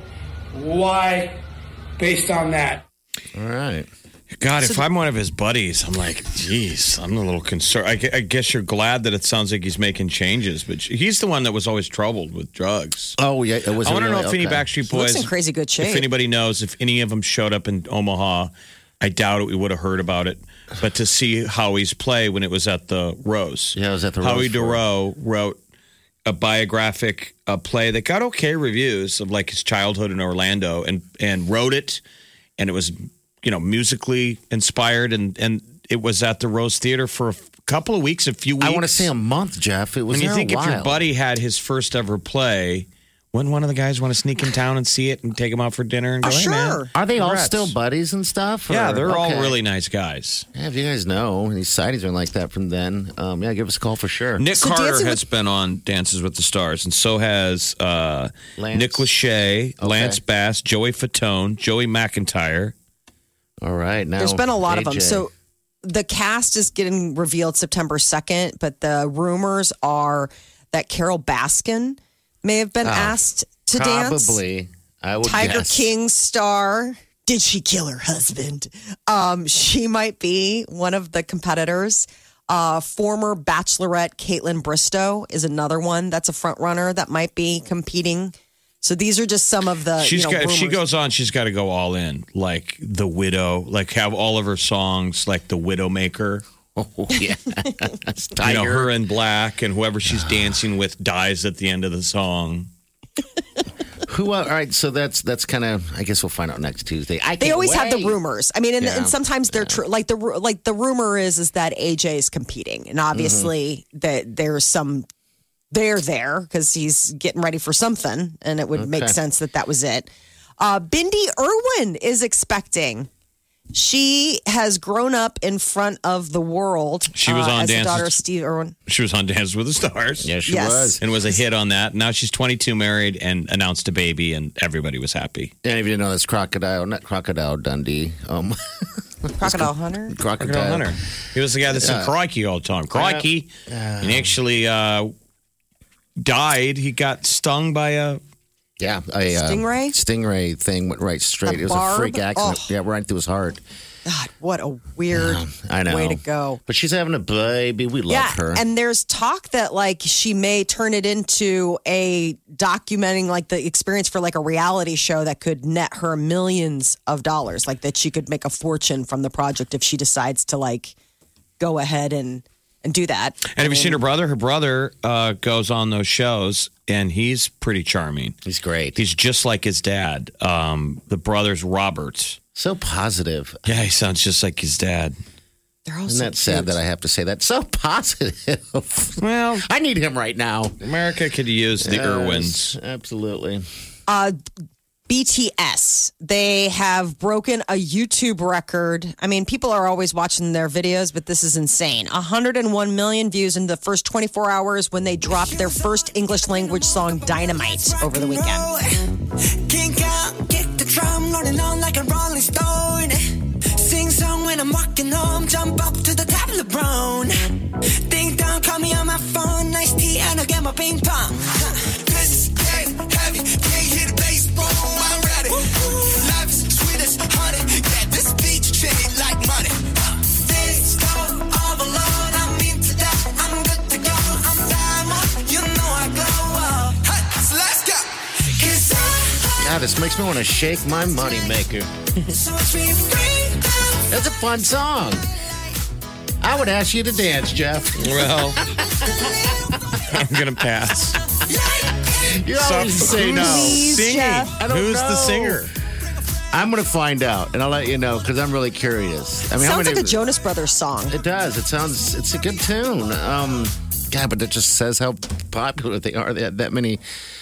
why based on that. All right. God, if I'm one of his buddies, I'm like, geez, I'm a little concerned. I, gu- I guess you're glad that it sounds like he's making changes, but he's the one that was always troubled with drugs. Oh, yeah. It was I want to really, know if any okay. Backstreet He looks Boys, in crazy good shape. if anybody knows, if any of them showed up in Omaha, I doubt it. We would have heard about it. But to see Howie's play when it was at the Rose. Yeah, it was at the Howie Rose for- Dorough wrote a biographic a play that got okay reviews of like his childhood in Orlando and, and wrote it. And it was, you know, musically inspired. And, and it was at the Rose Theater for a couple of weeks, a few weeks. I want to say a month, Jeff. It was And you there think a if while. your buddy had his first ever play, wouldn't one of the guys want to sneak in town and see it and take him out for dinner and go, Oh, hey, sure. man, Are they all congrats." still buddies and stuff? or- Yeah, they're all okay. really nice guys. Yeah, if you guys know any sightings are like that from then, um, yeah, give us a call for sure. Nick So Carter Dancing has been on Dances with the Stars, and so has uh, Lance. Nick Lachey, Lance Bass, Joey Fatone, Joey McIntyre. All right, now There's been a lot of A J. them. So the cast is getting revealed September second, but the rumors are that Carol Baskin may have been Oh, asked to dance. probably, I would Tiger guess. King star. Did she kill her husband? Um, she might be one of the competitors. Uh, former Bachelorette Caitlin Bristow is another one that's a front runner that might be competing. So these are just some of the. She's you know, got, if she rumors. goes on, she's got to go all in, like The Widow, like have all of her songs like The Widowmaker. Oh yeah, that's You Tiger. know, her in black, and whoever she's dancing with dies at the end of the song. Who? Uh, all right, so that's that's kind of. I guess we'll find out next Tuesday. I They can't always have the wait. rumors. I mean, and, Yeah. and sometimes they're true. Like the ru- like the rumor is is that A J is competing, and obviously Mm-hmm. that there's some there there because he's getting ready for something, and it would make Okay. sense that that was it. Uh, Bindi Irwin is expecting. She has grown up in front of the world. She was uh, on as the Dances- daughter of Steve Irwin. She was on Dances with the Stars. Yeah, she Yes. was. And was a hit on that. Now she's twenty-two, married, and announced a baby, and everybody was happy. And if you didn't know, that's Crocodile, not Crocodile Dundee. Um, Crocodile Hunter. Crocodile. Crocodile Hunter. He was the guy that said Yeah. crikey all the time. Crikey. And he actually uh, died. He got stung by a. Yeah, a uh, Stingray? Stingray thing went right straight. A it was barb? a freak accident. Oh. Yeah, right through his heart. God, what a weird I know. way to go. But she's having a baby. We love Yeah, her. and there's talk that like she may turn it into a documenting like the experience for like a reality show that could net her millions of dollars. Like that she could make a fortune from the project if she decides to like go ahead and and do that. And have you seen her brother? Her brother uh, goes on those shows, and he's pretty charming. He's great. He's just like his dad. Um, the brother's Robert. So positive. Yeah, he sounds just like his dad. They're all Isn't so that sad cute. that I have to say that? So positive. Well, I need him right now. America could use the Yes, Irwins. Absolutely. Uh, B T S, they have broken a YouTube record. I mean, people are always watching their videos, but this is insane. one hundred one million views in the first twenty-four hours when they dropped their first English language song, Dynamite, over the weekend. Kink out, kick the drum, rolling on like a rolling stone. Sing song when I'm walking home, jump up to the top of the brown. Ding dong, call me on my phone, nice tea, and I'll get my ping pong. This is game heavy, can't hit the baseball, I'm ready. Life is sweet as honey, yeah, this beach chain like money. This go all alone, I'm into that, I'm good to go. I'm diamond, you know I glow up. Hey, so let's go. 'Cause I God, this makes me want to shake my moneymaker. so free, free. That's a fun song. I would ask you to dance, Jeff. Well, I'm going to pass. You always So, say who's no. singing? Jeff. I don't Who's know. the singer? I'm going to find out, and I'll let you know because I'm really curious. I mean, how Sounds many? like a Jonas Brothers song. It does. It sounds. It's a good tune. Um, yeah, but it just says how popular they are. They had that many.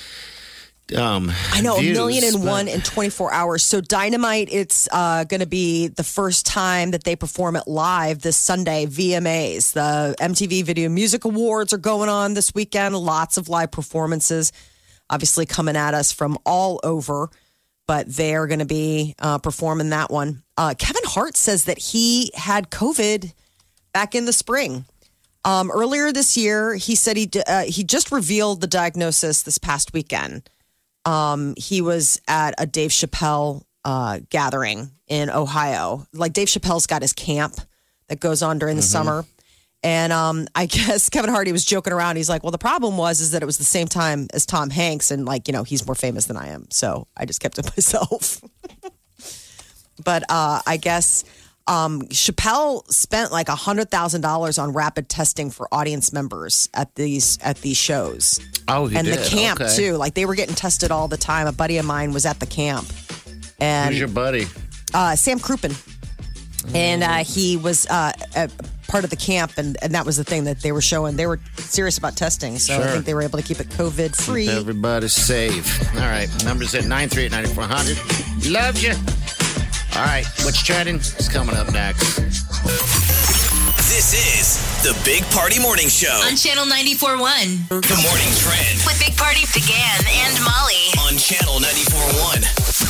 Um, I know, views, a million and but- one in twenty-four hours. So Dynamite, it's uh, going to be the first time that they perform it live this Sunday, V M As. The M T V Video Music Awards are going on this weekend. Lots of live performances, obviously coming at us from all over, but they are going to be uh, performing that one. Uh, Kevin Hart says that he had COVID back in the spring. Um, earlier this year, he said he d- uh, he just revealed the diagnosis this past weekend. Um, he was at a Dave Chappelle uh, gathering in Ohio. Like Dave Chappelle's got his camp that goes on during the summer. And um, I guess Kevin Hart, he was joking around. He's like, well, the problem was is that it was the same time as Tom Hanks. And like, you know, he's more famous than I am. So I just kept it myself. But uh, I guess um, Chappelle spent like one hundred thousand dollars on rapid testing for audience members at these at these shows. Oh, he and did. the camp Okay. too. Like they were getting tested all the time. A buddy of mine was at the camp, and Who's your buddy? uh, Sam Crouppen, and uh, he was uh, a part of the camp, and, and that was the thing that they were showing. They were serious about testing, so I Sure. think they were able to keep it COVID free. Everybody's safe. All right. Numbers at nine three eight, nine four zero zero. Love you. All right. What's trending? It's coming up next. This is the Big Party Morning Show. On Channel ninety-four point one. The morning trend With Big Party began and Molly. on Channel ninety-four point one.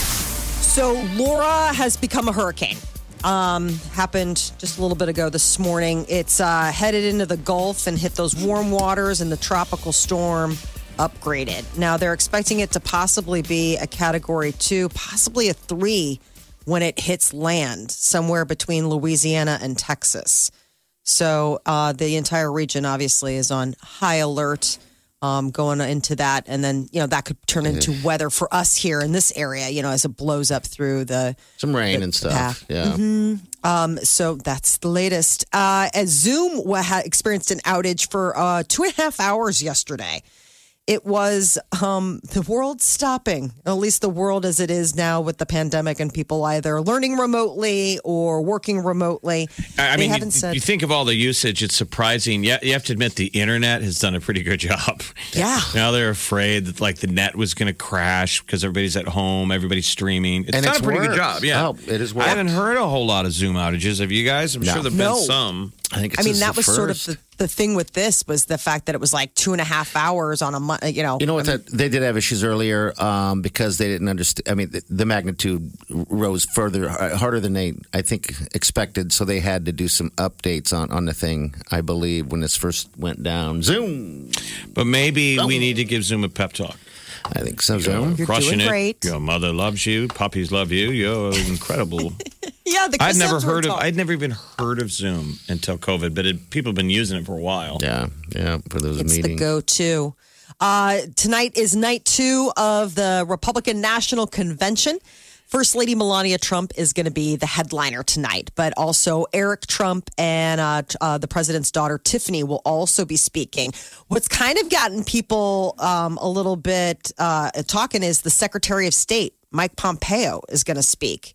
So Laura has become a hurricane. Um, happened just a little bit ago this morning. It's uh, headed into the Gulf and hit those warm waters, and the tropical storm upgraded. Now they're expecting it to possibly be a category two, possibly a three when it hits land somewhere between Louisiana and Texas. So uh, the entire region obviously is on high alert. Um, going into that, and then you know that could turn into weather for us here in this area. You know, as it blows up through the Some rain the and stuff. path. Yeah. Um, so that's the latest. Uh, as Zoom wa- had experienced an outage for uh, two and a half hours yesterday. It was um, the world stopping, at least the world as it is now with the pandemic and people either learning remotely or working remotely. I I They mean, haven't you, said- you think of all the usage, it's surprising. Yeah, you have to admit the internet has done a pretty good job. Yeah. Now they're afraid that like the net was going to crash because everybody's at home, everybody's streaming. It's And done it's a pretty good worked. job. Yeah. Oh, it has I worked. haven't heard a whole lot of Zoom outages. Have you guys? I'm No. sure there've No. been some. I think it's I mean, just that the was sort of first. the, the thing with this was the fact that it was like two and a half hours on a month, you know. You know what? That, they did have issues earlier um, because they didn't understand. I mean, the, the magnitude rose further, uh, harder than they, I think, expected. So they had to do some updates on, on the thing, I believe, when this first went down. Zoom. But maybe we need to give Zoom a pep talk. I think so. You're Zoom. You're crushing doing it. great. Your mother loves you. Puppies love you. You're incredible. Yeah, the I'd Chris never Hemsworth heard of. talk. I'd never even heard of Zoom until COVID, but it, people have been using it for a while. Yeah, yeah, for those It's the meetings. go-to. Uh, tonight is night two of the Republican National Convention. First Lady Melania Trump is going to be the headliner tonight, but also Eric Trump and uh, t- uh, the president's daughter, Tiffany, will also be speaking. What's kind of gotten people um, a little bit uh, talking is the Secretary of State, Mike Pompeo, is going to speak.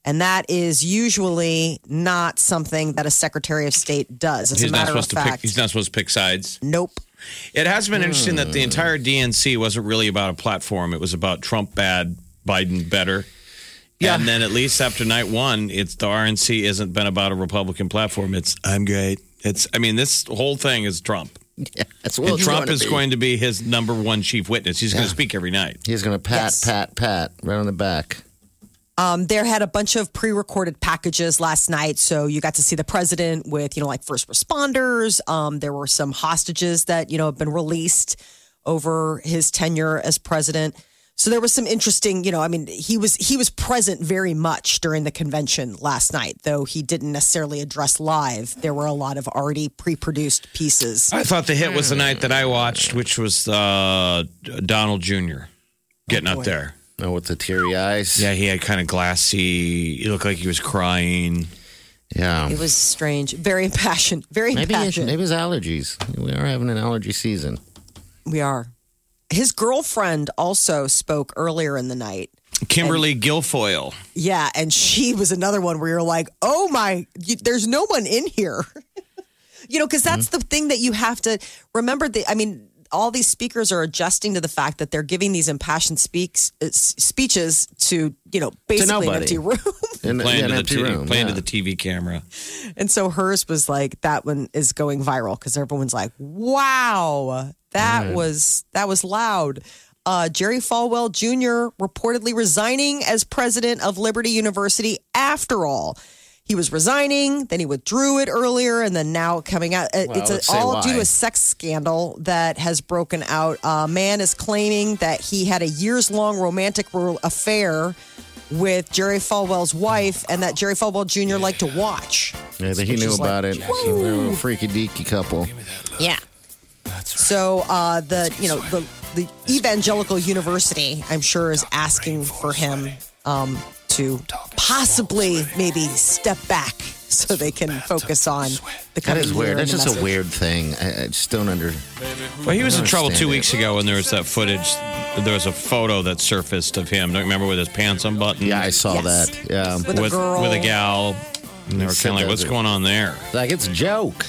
And that is usually not something that a Secretary of State does. As he's a matter not of supposed fact, to pick. He's not supposed to pick sides. Nope. It has been interesting that the entire D N C wasn't really about a platform. It was about Trump bad, Biden better. Yeah. And then at least after night one, it's the R N C isn't been about a Republican platform. It's I'm great. It's I mean this whole thing is Trump. Yeah, that's what and Trump going is to going to be his number one chief witness. He's Yeah. going to speak every night. He's going to pat, Yes. pat, pat right on the back. Um, there had a bunch of pre-recorded packages last night, so you got to see the president with, you know, like first responders. Um, there were some hostages that, you know, have been released over his tenure as president. So there was some interesting, you know, I mean, he was he was present very much during the convention last night, though he didn't necessarily address live. There were a lot of already pre-produced pieces. I thought the hit was the night that I watched, which was uh, Donald Junior getting Oh, up boy. there. Oh, with the teary eyes. Yeah, he had kind of glassy. He looked like he was crying. Yeah. It was strange, very impassioned, very Maybe, impassioned. maybe it's allergies. We are having an allergy season. We are. His girlfriend also spoke earlier in the night. Kimberly Guilfoyle. Yeah, and she was another one where you're like, oh my, you, there's no one in here. you know, because that's Mm-hmm. the thing that you have to remember. The, I mean, all these speakers are adjusting to the fact that they're giving these impassioned speaks, uh, s- speeches to, you know, basically an nobody. empty room. In, Playing, yeah, an to, the empty t- room. playing yeah. to the T V camera. And so hers was like, that one is going viral because everyone's like, wow, that was that was loud. Uh, Jerry Falwell Junior reportedly resigning as president of Liberty University after all. He was resigning, then he withdrew it earlier, and then now coming out. Uh, Well, it's let's a, say all why. due to a sex scandal that has broken out. A man is claiming that he had a years-long romantic ro- affair with Jerry Falwell's wife, and that Jerry Falwell Junior liked to watch. Yeah, that he Which knew is like, about it. They were a freaky deaky couple. Yeah. So uh, the you know the the evangelical university, I'm sure, is asking for him um, to possibly maybe step back so they can focus on the That coming is year weird. and That's the just message. a weird thing. I, I just don't under. Well, he was I in trouble understand two it. weeks ago when there was that footage. There was a photo that surfaced of him. Don't you remember with his pants unbuttoned? Yeah, I saw Yes. that. Yeah. With a with, girl. with a gal. And they were said kind of like, that what's it- going on there? Like, it's a joke.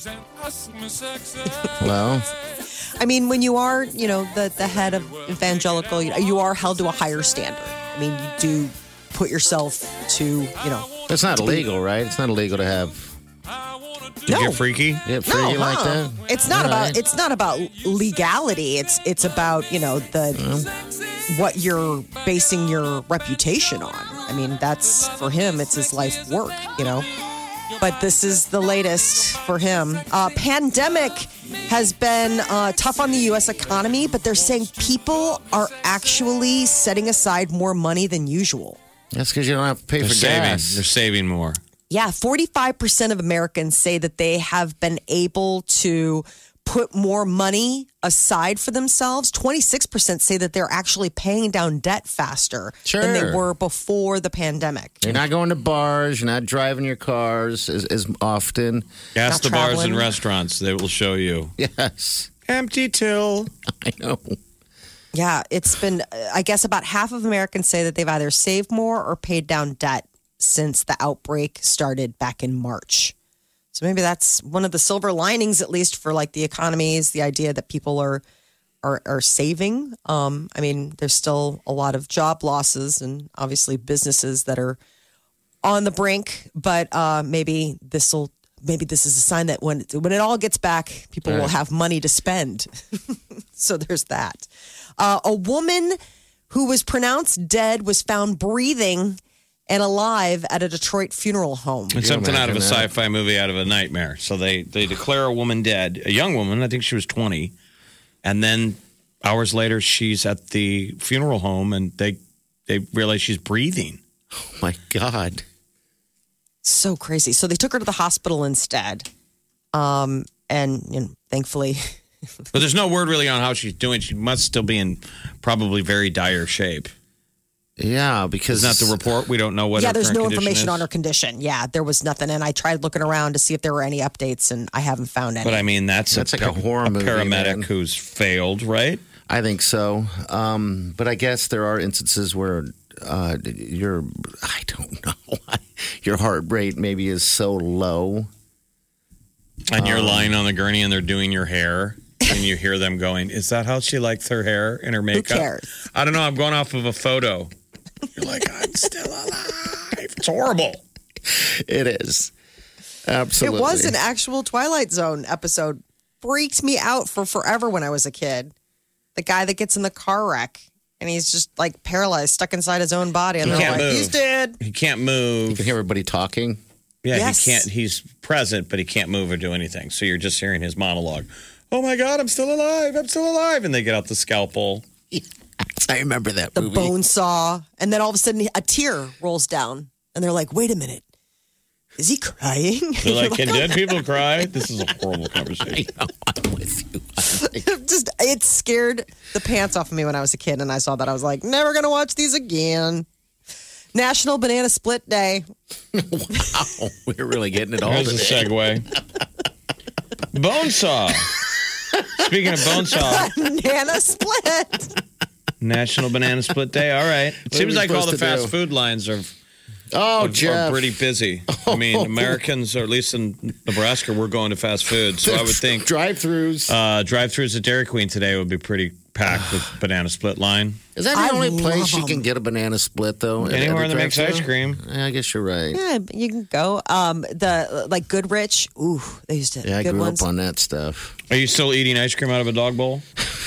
Well, I mean, when you are, you know, the, the head of evangelical, you, know, you are held to a higher standard. I mean, you do put yourself to, you know. it's not illegal, right? It's not illegal to have To No. get freaky? get freaky no, like huh? that. It's not All about right. it's not about legality. It's it's about, you know, the what you're basing your reputation on. I mean, that's for him, it's his life work, you know. But this is the latest for him. Uh, pandemic has been uh, tough on the U S economy, but they're saying people are actually setting aside more money than usual. That's because you don't have to pay They're for saving. gas. They're saving more. Yeah, forty-five percent of Americans say that they have been able to put more money aside for themselves. twenty-six percent say that they're actually paying down debt faster than they Sure. were before the pandemic. You're not going to bars. You're not driving your cars as, as often. Ask the Not bars traveling. and restaurants. They will show you. Yes, Empty till. I know. Yeah, it's been, I guess about half of Americans say that they've either saved more or paid down debt since the outbreak started back in March. So maybe that's one of the silver linings, at least for like the economy, is the idea that people are are, are saving. Um, I mean, there's still a lot of job losses and obviously businesses that are on the brink. But uh, maybe this will maybe this is a sign that when when it all gets back, people will have money to spend. So there's that. Uh, a woman who was pronounced dead was found breathing and alive at a Detroit funeral home. It's something out of a imagine that? sci-fi movie, out of a nightmare. So they they declare a woman dead, a young woman. I think she was twenty, and then hours later, she's at the funeral home, and they they realize she's breathing. Oh my God. So crazy. So they took her to the hospital instead. Um, and you know, thankfully, But there's no word really on how she's doing. She must still be in probably very dire shape. Yeah, because It's not the report. We don't know what. yeah, her there's current no condition information is. on her condition. Yeah, there was nothing. And I tried looking around to see if there were any updates, and I haven't found any. But I mean, that's That's a, like a horror movie, paramedic man. who's failed, right? I think so. Um, but I guess there are instances where uh, your, I don't know, your heart rate maybe is so low. And you're Um, lying on the gurney and they're doing your hair. And you hear them going, is that how she likes her hair and her makeup? Who cares? I don't know. I'm going off of a photo. You're like, I'm still alive. It's horrible. It is. Absolutely. It was an actual Twilight Zone episode. Freaked me out for forever when I was a kid. The guy that gets in the car wreck and he's just like paralyzed, stuck inside his own body. And He they're can't like, move. he's dead. He can't move. You can hear everybody talking. Yeah, Yes. he can't. He's present, but he can't move or do anything. So you're just hearing his monologue. Oh my God, I'm still alive. I'm still alive. And they get out the scalpel. I remember that The movie. bone saw. And then all of a sudden a tear rolls down. And they're like, wait a minute. Is he crying? They're like, can dead people cry? This is a horrible conversation. I know, I'm with you. Just it scared the pants off of me when I was a kid, and I saw that. I was like, never gonna watch these again. National Banana Split Day. Wow, we're really getting it all There's a today. segue. Bonesaw. Speaking of Bonesaw, Banana Split. National Banana Split Day. All right. It are seems we like all the supposed to fast do? food lines are, Oh, are, Jeff. are pretty busy. I mean, Americans, or at least in Nebraska, we're going to fast food. So I would think drive-throughs. uh, drive-thrus at Dairy Queen today would be pretty packed with banana split line. Is that the I only love place you them. can get a banana split, though? at- Anywhere at that a makes ice drive-thru? cream. Yeah, I guess you're right. Yeah, you can go. Um, the like Goodrich. Ooh, they used to. Yeah, I good grew ones. up on that stuff. Are you still eating ice cream out of a dog bowl?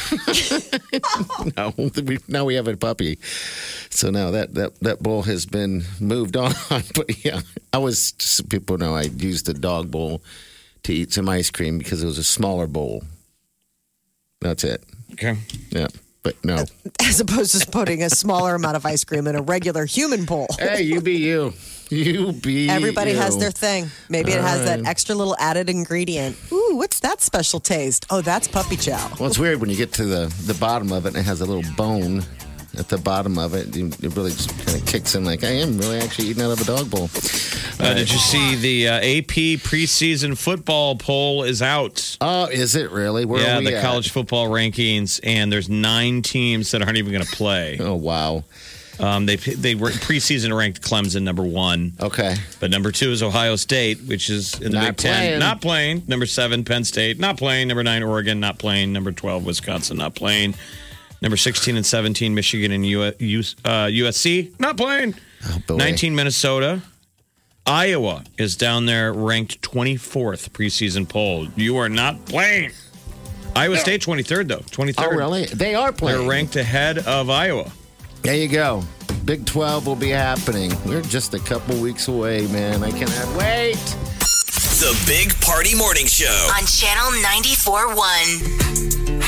No, we, now we have a puppy. So now that, that, that bowl has been moved on. But yeah, I was, so people know I used the dog bowl to eat some ice cream because it was a smaller bowl. That's it. Okay. Yeah, but no. As opposed to putting a smaller amount of ice cream in a regular human bowl. Hey, you be you. You be Everybody you. has their thing. Maybe it All has that right. extra little added ingredient. Ooh, what's that special taste? Oh, that's puppy chow. Well, it's weird when you get to the, the bottom of it and it has a little bone at the bottom of it. It really just kind of kicks in like, I am really actually eating out of a dog bowl. Uh, did you see the uh, A P preseason football poll is out? Oh, is it really? Where yeah, are we the at? college football rankings, and there's nine teams that aren't even going to play. Oh, wow. Um, they they were preseason ranked Clemson number one, Okay. but number two is Ohio State, which is in the Not Big Ten, playing. not playing. Number seven, Penn State, not playing. Number nine, Oregon, not playing. Number twelve, Wisconsin, not playing. Number sixteen and seventeen, Michigan and U- U- uh, U S C, not playing. Oh, boy. nineteen, Minnesota. Iowa is down there ranked twenty-fourth preseason poll. You are not playing. Iowa State twenty-third, though. twenty-third. Oh, really? They are playing. They're ranked ahead of Iowa. There you go. Big twelve will be happening. We're just a couple weeks away, man. I cannot wait. The Big Party Morning Show. On Channel ninety-four point one.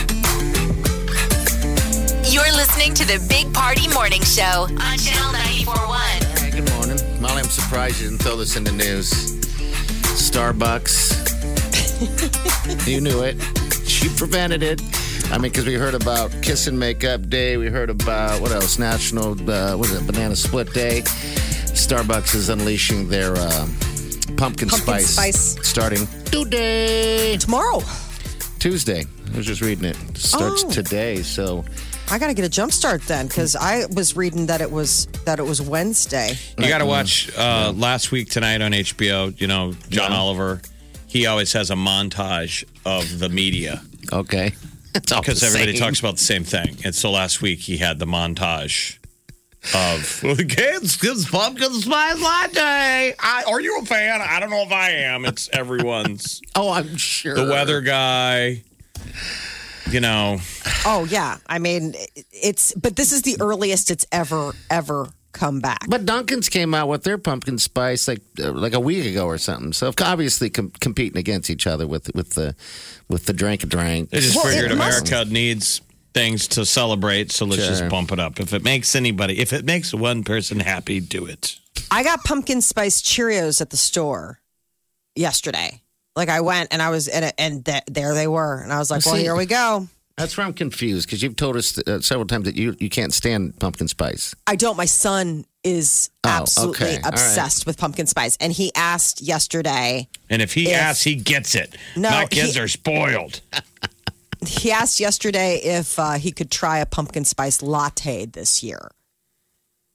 You're listening to the Big Party Morning Show on Channel ninety-four point one. All right, good morning. Molly, I'm surprised you didn't throw this in the news. Starbucks. You knew it. She prevented it. I mean, because we heard about Kiss and Makeup Day. We heard about, what else? National, uh, what is it, Banana Split Day. Starbucks is unleashing their uh, pumpkin, Pumpkin spice, spice. starting today. Tomorrow. Tuesday. I was just reading it. It starts Oh. today, so... I got to get a jump start then because I was reading that it was that it was Wednesday. You got to watch uh, last week tonight on H B O. You know, John Yeah. Oliver. He always has a montage of the media Okay. It's all because the everybody same. talks about the same thing. And so last week he had the montage of well, the kids, kids pumpkin spice latte. I, are you a fan? I don't know if I am. It's everyone's. Oh, I'm sure. The weather guy. You know, Oh yeah, I mean it's but this is the earliest it's ever ever come back. But Dunkin's came out with their pumpkin spice like uh, like a week ago or something. So obviously com- competing against each other with with the with the drink a drink. they just Well, figured it must- America needs things to celebrate, so let's Sure. just bump it up. If it makes anybody, if it makes one person happy, do it. I got pumpkin spice Cheerios at the store yesterday. Like I went and I was in it, and th- there they were, and I was like, Well, "Well, see- here we go." That's where I'm confused because you've told us uh, several times that you you can't stand pumpkin spice. I don't. My son is Oh, absolutely okay. All right. obsessed with pumpkin spice, and he asked yesterday. And if he If- asks, he gets it. No, My kids he- are spoiled. He asked yesterday if uh, he could try a pumpkin spice latte this year.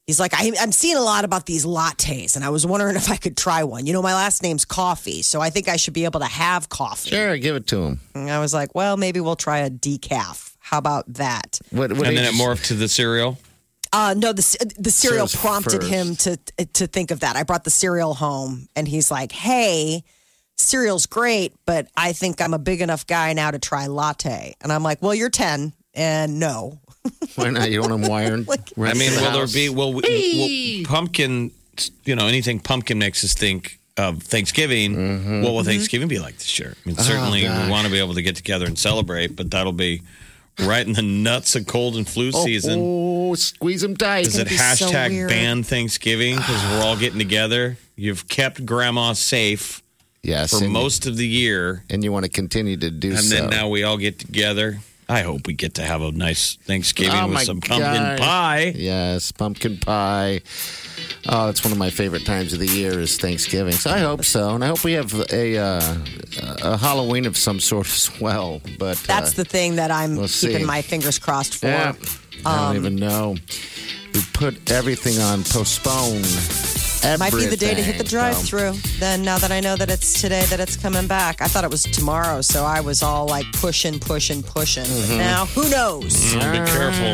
He's like, I, I'm seeing a lot about these lattes, and I was wondering if I could try one. You know, my last name's Coffee, so I think I should be able to have coffee. Sure, give it to him. And I was like, well, maybe we'll try a decaf. How about that? What, what and then age- it morphed to the cereal? Uh, no, the the cereal Cereal's prompted first. him to to think of that. I brought the cereal home, and he's like, hey, cereal's great, but I think I'm a big enough guy now to try latte. And I'm like, well, you're ten, and no. Why not? You don't want them wired? I mean, will there be, will, will, will pumpkin, you know, anything pumpkin makes us think of Thanksgiving. Mm-hmm. What will Thanksgiving be like this year? I mean, certainly we want to be able to get together and celebrate, but that'll be right in the nuts of cold and flu season. Oh, squeeze them tight. Is it be so hashtag weird. ban Thanksgiving because we're all getting together? You've kept grandma safe Yes. for and, most of the year, and you want to continue to do and so. then now we all get together. I hope we get to have a nice Thanksgiving Oh, with my some pumpkin God. pie. Yes, pumpkin pie. Oh, it's one of my favorite times of the year is Thanksgiving. So I hope so, and I hope we have a uh, a Halloween of some sort as well. But That's uh, the thing that I'm we'll keeping see. my fingers crossed for. yeah, I Um, don't even know. We put everything on postpone. Might be the day to hit the everything. drive-through. Then now that I know that it's today that it's coming back, I thought it was tomorrow, so I was all like pushing, pushing, pushing. Mm-hmm. But now who knows? Mm, be careful.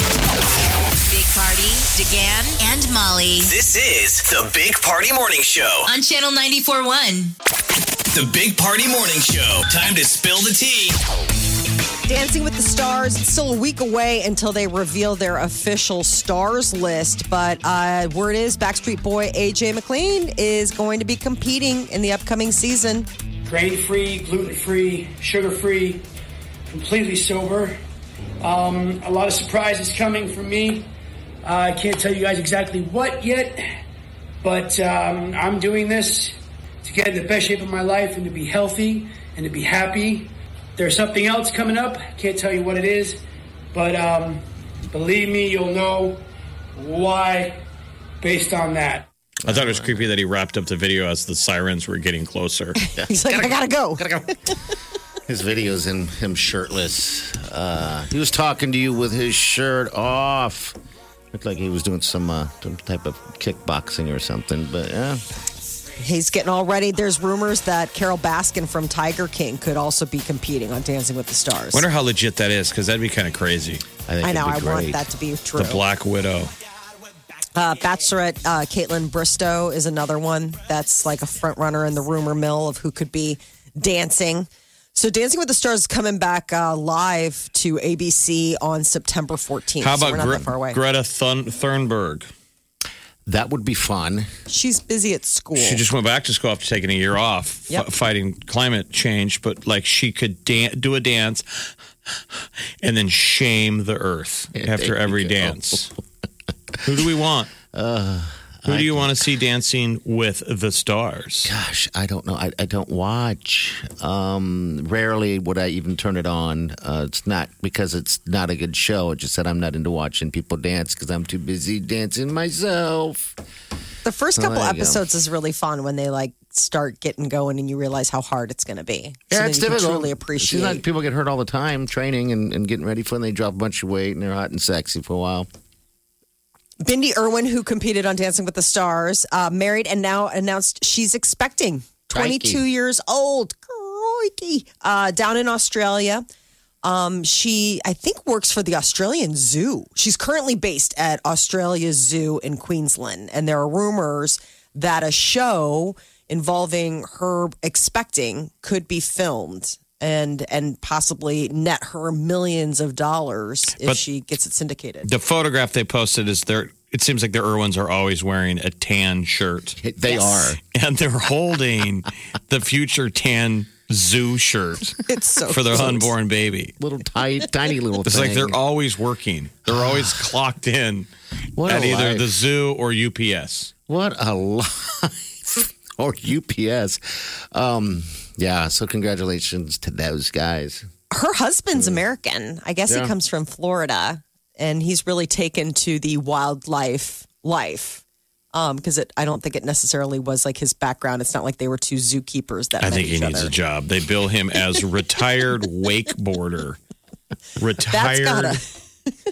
Big Party, DeGan, and Molly This is the Big Party Morning Show. on Channel ninety-four point one. The Big Party Morning Show. Time to spill the tea. Dancing with the Stars, it's still a week away until they reveal their official stars list. But uh, word is Backstreet Boy A J McLean is going to be competing in the upcoming season. Grain-free, gluten-free, sugar-free, completely sober. Um, a lot of surprises coming from me. Uh, I can't tell you guys exactly what yet, but um, I'm doing this to get in the best shape of my life and to be healthy and to be happy. There's something else coming up. Can't tell you what it is, but um, believe me, you'll know why based on that. I thought it was creepy that he wrapped up the video as the sirens were getting closer. He's like, I gotta go. His videos in him shirtless. Uh, he was talking to you with his shirt off. Looked like he was doing some uh, some type of kickboxing or something. But yeah, He's getting all ready. There's rumors that Carol Baskin from Tiger King could also be competing on Dancing with the Stars. Wonder how legit that is because that'd be kind of crazy. I think I know. I it'd be want great. that to be true. The Black Widow. Uh, Bachelorette uh, Caitlin Bristow is another one that's like a front runner in the rumor mill of who could be dancing. So Dancing with the Stars is coming back uh, live to A B C on September fourteenth. How so about we're not Gre- that far away. Greta Thun- Thunberg? That would be fun. She's busy at school. She just went back to school after taking a year off, f- Yep. fighting climate change. But like she could dan- do a dance and then shame the earth Yeah, after there you every go. dance. Who do we want? Uh, Who do you want to see dancing with the stars? Gosh, I don't know. I, I don't watch. Um, rarely would I even turn it on. Uh, it's not because it's not a good show. It's just that I'm not into watching people dance because I'm too busy dancing myself. The first Oh, couple there you go. episodes is really fun when they like start getting going and you realize how hard it's going to be. So Yeah, then it's you can difficult. truly It's appreciate. not- people get hurt all the time training and, and getting ready for it. And they drop a bunch of weight and they're hot and sexy for a while. Bindi Irwin, who competed on Dancing with the Stars, uh, married and now announced she's expecting. twenty-two Crikey. years old. Crikey. Uh, down in Australia. Um, she, I think, works for the Australian Zoo. She's currently based at Australia's Zoo in Queensland. And there are rumors that a show involving her expecting could be filmed and and possibly net her millions of dollars if But- she gets it syndicated. The photograph they posted is their. It seems like the Irwins are always wearing a tan shirt, They are. and they're holding the future tan zoo shirt It's so for their cute. unborn baby. Little tiny, tiny little It's thing. like they're always working. They're always clocked in What a at either life. the zoo or U P S. What a life. Or U P S. Um, yeah, so congratulations to those guys. Her husband's American. I guess Yeah. he comes from Florida, and he's really taken to the wildlife life. Um, because it, I don't think it necessarily was like his background. It's not like they were two zookeepers that I met think he each needs other. a job. They bill him as retired wakeboarder. Retired. That's gotta.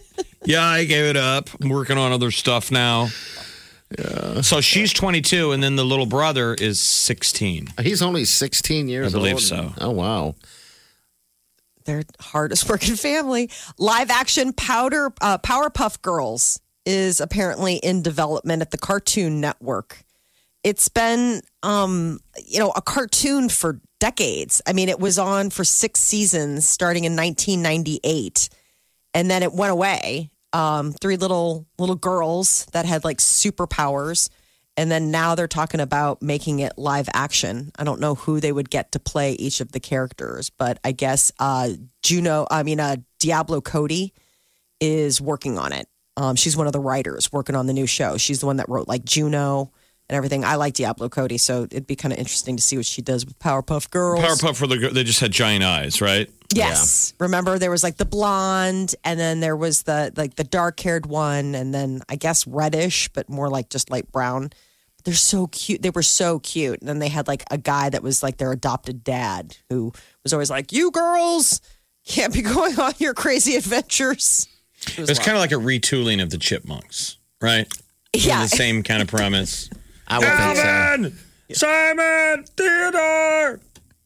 Yeah, I gave it up. I'm working on other stuff now. Yeah. So she's twenty-two, and then the little brother is sixteen. He's only sixteen years old. I believe old. so. Oh, wow. They're hardest working family. Live action Powder uh, Powerpuff Girls is apparently in development at the Cartoon Network. It's been, um, you know, a cartoon for decades. I mean, it was on for six seasons starting in nineteen ninety-eight, and then it went away. Um, three little little girls that had like superpowers, and then now they're talking about making it live action. I don't know who they would get to play each of the characters, but I guess uh, Juno, I mean, uh, Diablo Cody is working on it. Um, she's one of the writers working on the new show. She's the one that wrote like Juno and everything. I like Diablo Cody, so it'd be kind of interesting to see what she does with Powerpuff Girls. Powerpuff, for the they just had giant eyes, right? Yes. Yeah. Remember, there was like the blonde, and then there was the like the dark-haired one, and then I guess reddish, but more like just light brown. They're so cute. They were so cute. And then they had like a guy that was like their adopted dad, who was always like, "You girls can't be going on your crazy adventures." It was, was kind of like a retooling of the Chipmunks, right? Yeah, the same kind of premise. I would Alvin, think so. Simon, Theodore.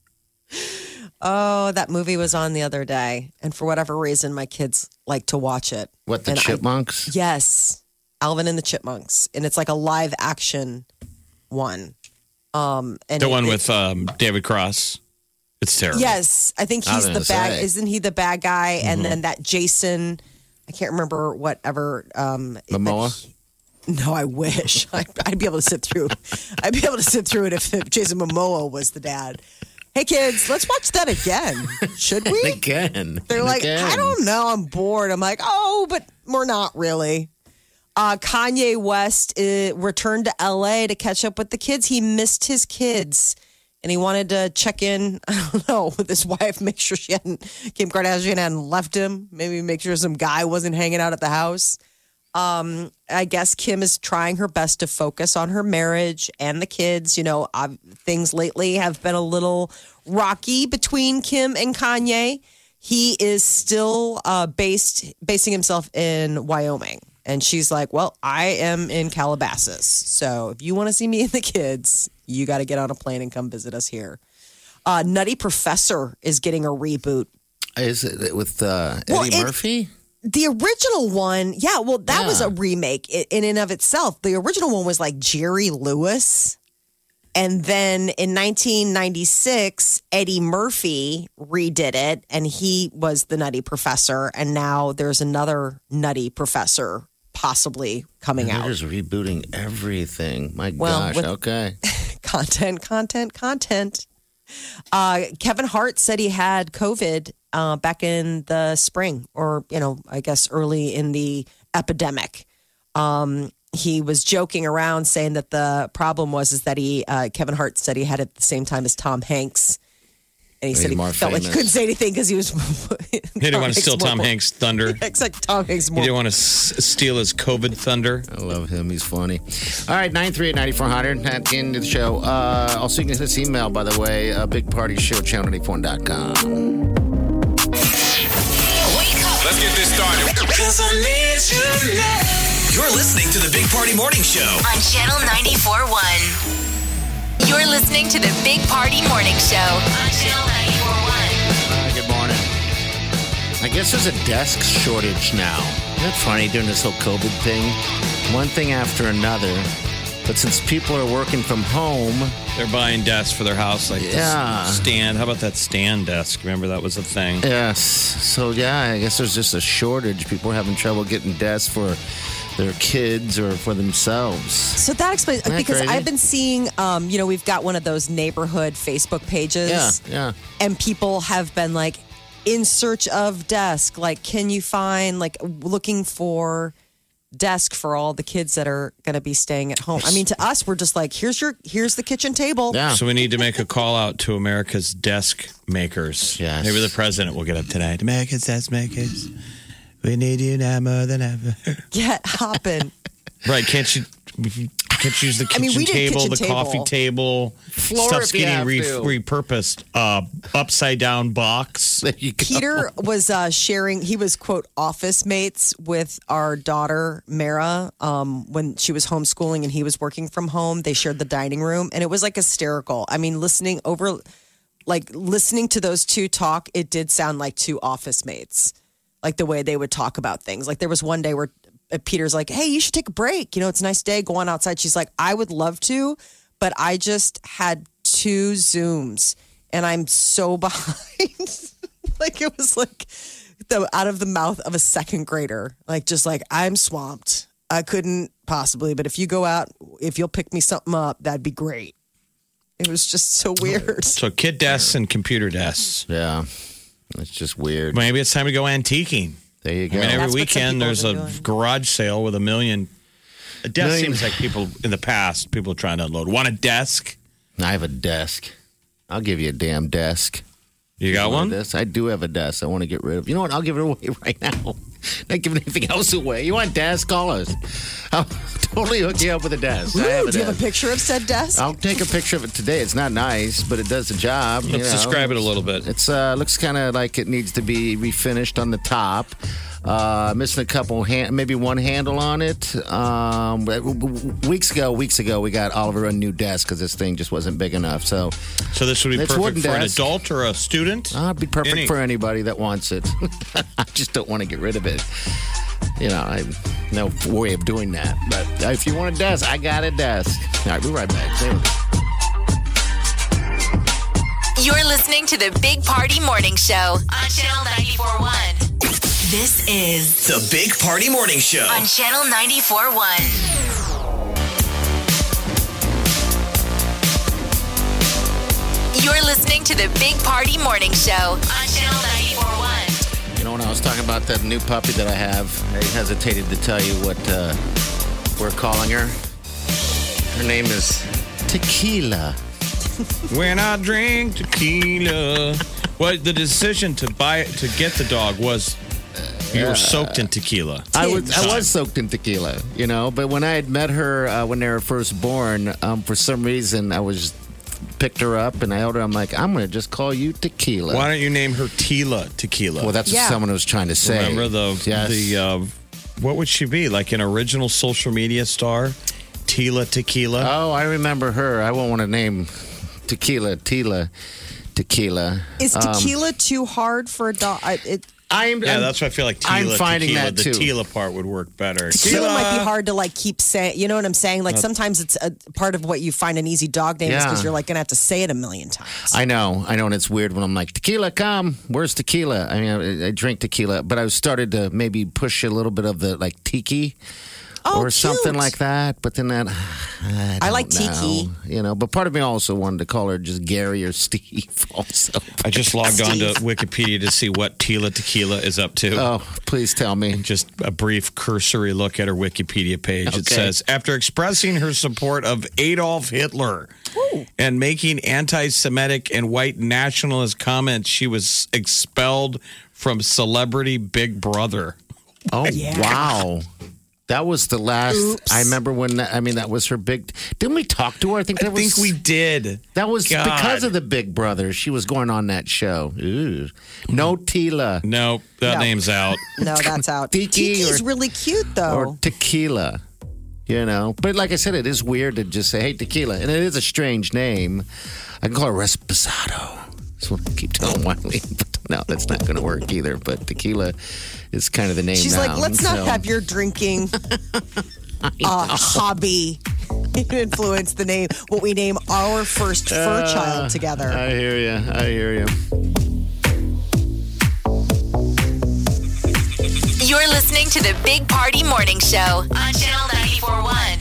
Oh, that movie was on the other day, and for whatever reason, my kids like to watch it. What, the and Chipmunks? I, yes, Alvin and the Chipmunks, and it's like a live action one. Um, and the it, one it, with um, David Cross. It's terrible. Yes, I think he's I the bad. say. Isn't he the bad guy? Mm-hmm. And then that Jason, I can't remember whatever. Um, Momoa. No, I wish. I'd, I'd be able to sit through. I'd be able to sit through it if, if Jason Momoa was the dad. Hey, kids, let's watch that again. Should we? Again. They're and like, again. I don't know. I'm bored. I'm like, oh, but we're not really. Uh, Kanye West uh, returned to L A to catch up with the kids. He missed his kids, and he wanted to check in, I don't know, with his wife, make sure she hadn't, Kim Kardashian hadn't left him. Maybe make sure some guy wasn't hanging out at the house. Um, I guess Kim is trying her best to focus on her marriage and the kids. You know, uh, things lately have been a little rocky between Kim and Kanye. He is still uh, based basing himself in Wyoming. And she's like, well, I am in Calabasas. So if you want to see me and the kids, you got to get on a plane and come visit us here. Uh, Nutty Professor is getting a reboot. Is it with uh, Eddie Well, it- Murphy? The original one, yeah, well, that Yeah. was a remake i- in and of itself. The original one was like Jerry Lewis. And then in nineteen ninety-six, Eddie Murphy redid it, and he was the Nutty Professor. And now there's another Nutty Professor possibly coming They're out. just rebooting everything. My Well, gosh. with- Okay. Content, content, content. Uh, Kevin Hart said he had COVID uh, back in the spring, or, you know, I guess early in the epidemic. Um, he was joking around saying that the problem was is that he, uh, Kevin Hart said he had it at the same time as Tom Hanks. And he He's said he more felt like he famous. couldn't say anything because he was. He didn't want to steal Tom Hanks' thunder. It's like Tom Hanks He more. didn't want to s- steal his COVID thunder. I love him. He's funny. All right, nine three eight, nine four zero zero at the end of the show. Uh, also, you can send us email, by the way, uh, big party show, channel ninety-four dot com. Wake up Let's get this started. You're listening to the Big Party Morning Show. on Channel ninety-four point one. You're listening to the Big Party Morning Show on Channel ninety-four point one. Uh, good morning. I guess there's a desk shortage now. Isn't that funny during this whole COVID thing? One thing after another. But since people are working from home, They're buying desks for their house, like this Yeah. stand. How about that stand desk? Remember that was a thing. yes. So, yeah, I guess there's just a shortage. People are having trouble getting desks for their kids or for themselves. So that explains Isn't that because crazy? I've been seeing, um, you know, we've got one of those neighborhood Facebook pages. Yeah, yeah. And people have been like in search of desk. Like, can you find like looking for desk for all the kids that are going to be staying at home? I mean, to us, we're just like, here's your here's the kitchen table. Yeah. So we need to make a call out to America's desk makers. Yes. Maybe the president will get up tonight. America's desk makers. We need you now more than ever. Get hopping. Right? Can't you could use the I kitchen mean, we did table, kitchen the table. coffee table. Floor Stuff's if you getting have re- to. repurposed. Uh, upside down box. There you go. Peter was uh, sharing, he was, quote, office mates with our daughter, Mara, um, when she was homeschooling and he was working from home. They shared the dining room, and it was like hysterical. I mean, listening over, like listening to those two talk, it did sound like two office mates, like the way they would talk about things. Like there was one day where Peter's like, hey, you should take a break. You know, it's a nice day. Go on outside. She's like, I would love to, but I just had two Zooms and I'm so behind. Like it was like the out of the mouth of a second grader. Like just like, I'm swamped. I couldn't possibly, but if you go out, if you'll pick me something up, that'd be great. It was just so weird. So kid desks and computer desks. Yeah. It's just weird. Maybe it's time to go antiquing. There you I go. mean, every That's what some weekend people there's have a been doing. garage sale with a million. A desk Million. seems like people in the past, people trying to unload. Want a desk? I have a desk. I'll give you a damn desk. You got You want one? This? I do have a desk. I want to get rid of. You know what? I'll give it away right now. Not giving anything else away. You want a desk? Call us. I'll totally hook you up with a desk. I have Ooh, a do you have a desk. picture of said desk? I'll take a picture of it today. It's not nice, but it does the job. you Let's know. describe it a little bit. It's uh, looks kind of like it needs to be refinished on the top. Uh, missing a couple, hand, maybe one handle on it. Um, weeks ago, weeks ago, we got Oliver a new desk because this thing just wasn't big enough. So So this would be It's perfect wooden for an desk. adult or a student? uh, it'd be perfect Any- for anybody that wants it. I just don't want to get rid of it. You know, I no way of doing that. But if you want a desk, I got a desk. All right, we'll be right back. There we go. You're listening to the Big Party Morning Show on Channel ninety-four point one. This is The Big Party Morning Show. on Channel ninety-four point one. You're listening to the Big Party Morning Show on Channel ninety-four point one. You know, when I was talking about that new puppy that I have, I hesitated to tell you what uh, we're calling her. Her name is Tequila. When I drink tequila. Well, the decision to buy to get the dog was you were soaked in tequila. I was I was soaked in tequila, you know, but when I had met her uh, when they were first born, um, for some reason I was picked her up and I held her. I'm like, I'm going to just call you Tequila. Why don't you name her Tila Tequila? Well, that's Yeah. what someone was trying to say. Remember the Yes. the uh, what would she be like an original social media star? Tila Tequila. Oh, I remember her. I won't want to name Tequila, Tila, Tequila. Is Um, tequila too hard for a dog? I- It, I'm, yeah, I'm- that's why I feel like I'm Tila finding Tequila. that the too. Tila part would work better. tequila might be hard to like keep saying. You know what I'm saying? Like sometimes it's a part of what you find an easy dog name is because Yeah. you're like going to have to say it a million times. I know, I know, and it's weird when I'm like, tequila, come. Where's tequila? I mean, I, I drink tequila, but I started to maybe push a little bit of the like tiki Oh, or something cute. like that. But then that, I, I like don't tiki. know, you know. But part of me also wanted to call her just Gary or Steve. Also, I just logged on to Wikipedia to see what Tila Tequila is up to. oh, please tell me. Just a brief cursory look at her Wikipedia page. It Okay. says, after expressing her support of Adolf Hitler and making anti-Semitic and white nationalist comments, she was expelled from Celebrity Big Brother. Oh, wow. That was the last. Oops. I remember when. I mean, that was her big. Didn't we talk to her? I think I that think was. we did. That was God. because of the Big Brother. She was going on that show. Ooh. No Tila No, that No. name's out. No, that's out. Tiki Tiki's or- really cute though. or tequila. You know, but like I said, it is weird to just say, "Hey, tequila," and it is a strange name. I can call her Resposado. That's what I keep telling Wiley. But no, that's not going to work either. But tequila is kind of the name. She's now, like, let's not so- have your drinking uh, hobby influence the name. What we name our first fur Uh, child together. I hear you. I hear you. You're listening to the Big Party Morning Show on Channel ninety-four point one.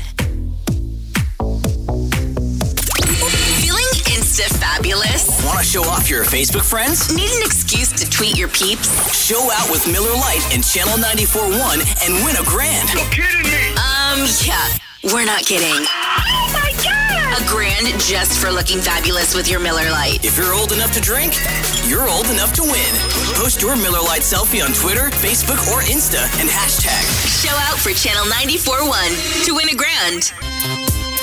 Feeling insta-fabulous? Want to show off your Facebook friends? Need an excuse to tweet your peeps? Show out with Miller Lite and Channel ninety-four point one and win a grand. You're kidding me. Um, yeah, we're not kidding. Oh my God! A grand just for looking fabulous with your Miller Lite. If you're old enough to drink, you're old enough to win. Post your Miller Lite selfie on Twitter, Facebook, or Insta and hashtag. Show out for Channel ninety-four point one to win a grand.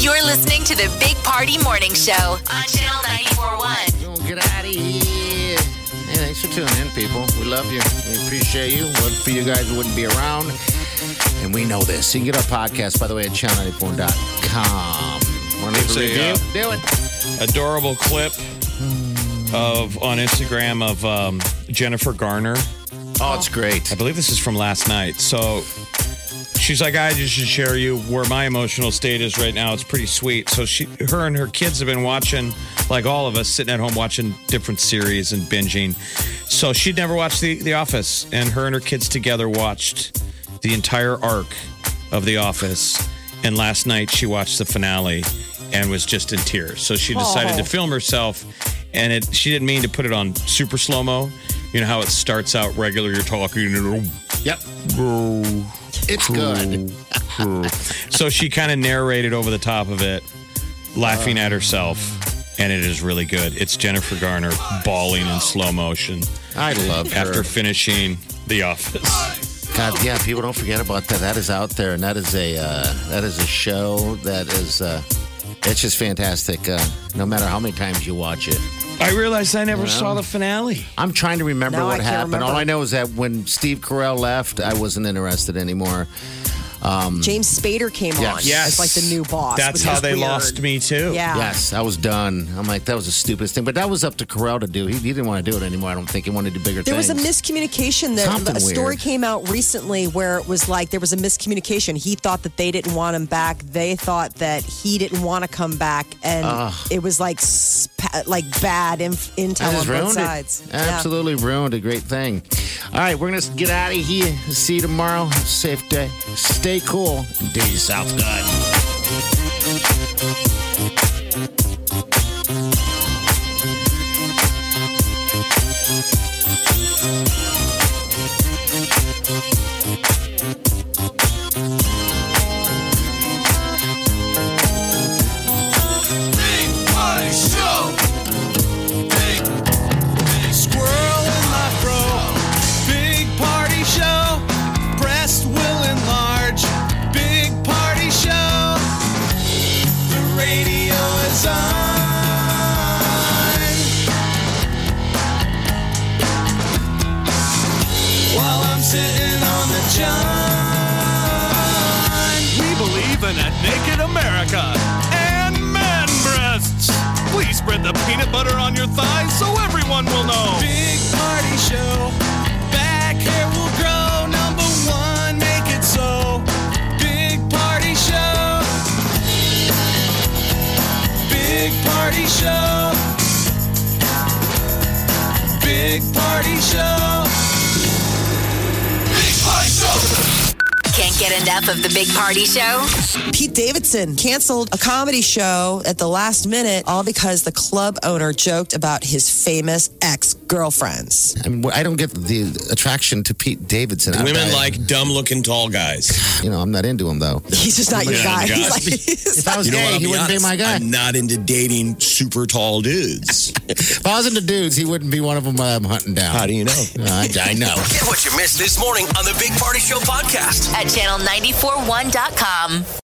You're listening to the Big Party Morning Show on Channel ninety-four point one. Don't get out of here. Hey, thanks for tuning in, people. We love you. We appreciate you. But for you guys, we wouldn't be around. And we know this. You can get our podcast, by the way, at channel ninety-four dot com. Want to leave a review? Uh, Do it. Adorable clip of on Instagram of um, Jennifer Garner. Oh, it's great. I believe this is from last night. So she's like, I just should share you where my emotional state is right now. It's pretty sweet. So she, her and her kids have been watching, like all of us, sitting at home watching different series and binging. So she'd never watched The, the Office, and her and her kids together watched the entire arc of The Office. And last night she watched the finale and was just in tears. So she decided Oh. to film herself, and it, she didn't mean to put it on super slow-mo. You know how it starts out regular, you're talking, and Yep. It's good. so she kind of narrated over the top of it, laughing at herself, and it is really good. It's Jennifer Garner bawling in slow motion I love her. after finishing The Office. God, yeah, people don't forget about that. That is out there, and that is a uh, that is a show that is uh, it's just fantastic. Uh, no matter how many times you watch it. I realized I never You know? saw the finale. I'm trying to remember No, I what can't happened. remember. All I know is that when Steve Carell left, I wasn't interested anymore. James Spader came Yes. on. Yes. As like the new boss. That's which how is they weird. lost me, too. Yeah. Yes, I was done. I'm like, that was the stupidest thing. But that was up to Carell to do. He, he didn't want to do it anymore. I don't think he wanted to do bigger There was things. a miscommunication. That Something a story weird. came out recently where it was like there was a miscommunication. He thought that they didn't want him back. They thought that he didn't want to come back, and it was like sp- like bad inf- intel That on just both ruined sides. it. Absolutely ruined a great thing. All right, we're going to get out of here. See you tomorrow. Have a safe day. Stay cool. And do yourself good. Big Party Show. Big, big squirrel in my fro. Big Party Show. Breast will enlarge. Big Party Show. The radio is on. While I'm sitting on the john. We believe in a naked America and man breasts. Please spread the peanut butter on your thighs so everyone will know. Big Party Show. Back hair will grow. Number one, make it so. Big Party Show. Big Party Show. Big Party Show. Big Party Show. Can't get enough of the Big Party Show? Pete Davidson canceled a comedy show at the last minute, all because the club owner joked about his famous ex-girlfriends. I mean, I don't get the attraction to Pete Davidson. I- Women I- like dumb-looking tall guys. You know, I'm not into him, though. He's just not your You're not guy. into He's guys. like, he's If I was You know gay, what? I'll he be wouldn't be honest. my guy. I'm not into dating super tall dudes. If I was into dudes, he wouldn't be one of them I'm hunting down. How do you know? I, I know. Get what you missed this morning on the Big Party Show podcast. At channel nine four one dot com.